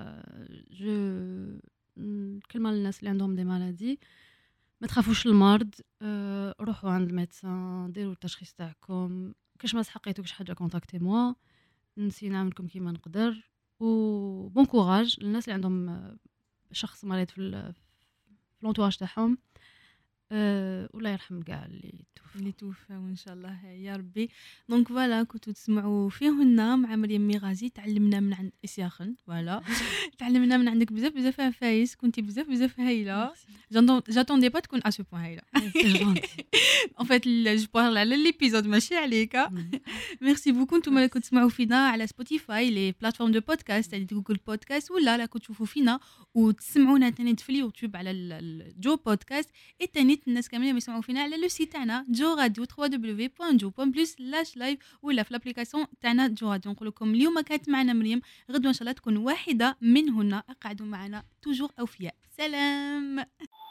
جو كلمه للناس اللي عندهم دي مالادي ما تخافوش المرض آه، روحوا عند الميدسان ديروا التشخيص تاعكم كاش ما سحقيتوكش حاجه كونتاكتي موا نسي نعاونكم كيما نقدر و بون كوراج للناس اللي عندهم آه، شخص مريض في ال- في لونتواج تاعهم آه، والله يرحم كاع اللي توفى. اللي توفاو ان شاء الله يا ربي. دونك فوالا كنتو تسمعوا فيهن مع مريم ميغازي، تعلمنا من عند اسياخن. فوالا تعلمنا من عندك بزاف بزاف عفايس، كنتي بزاف بزاف هايله. جاتوندي با تكون ا سو بوين هايله. ان فيت جو بارل على ليبيزود ماشي عليك. ميرسي بوكو. نتوما اللي كنتو تسمعوا فينا على سبوتيفاي، لي بلاتفورم دو بودكاست تاع جوجل بودكاست، ولا لا كنتو تشوفوا فينا وتسمعونا تاني في اليوتيوب على الجو بودكاست. اي تاني الناس كاملين اللي يسمعوا فينا على لو سيت تاعنا جو راديو دبليو دبليو دبليو بوان جو بوان بلس لاش لايف، ولا في الابليكاسيون تاعنا جو راديو. نقول لكم اليوم كانت معنا مريم، غدوه ان شاء الله تكون واحده منهن. اقعدوا معنا توجور اوفياء. سلام.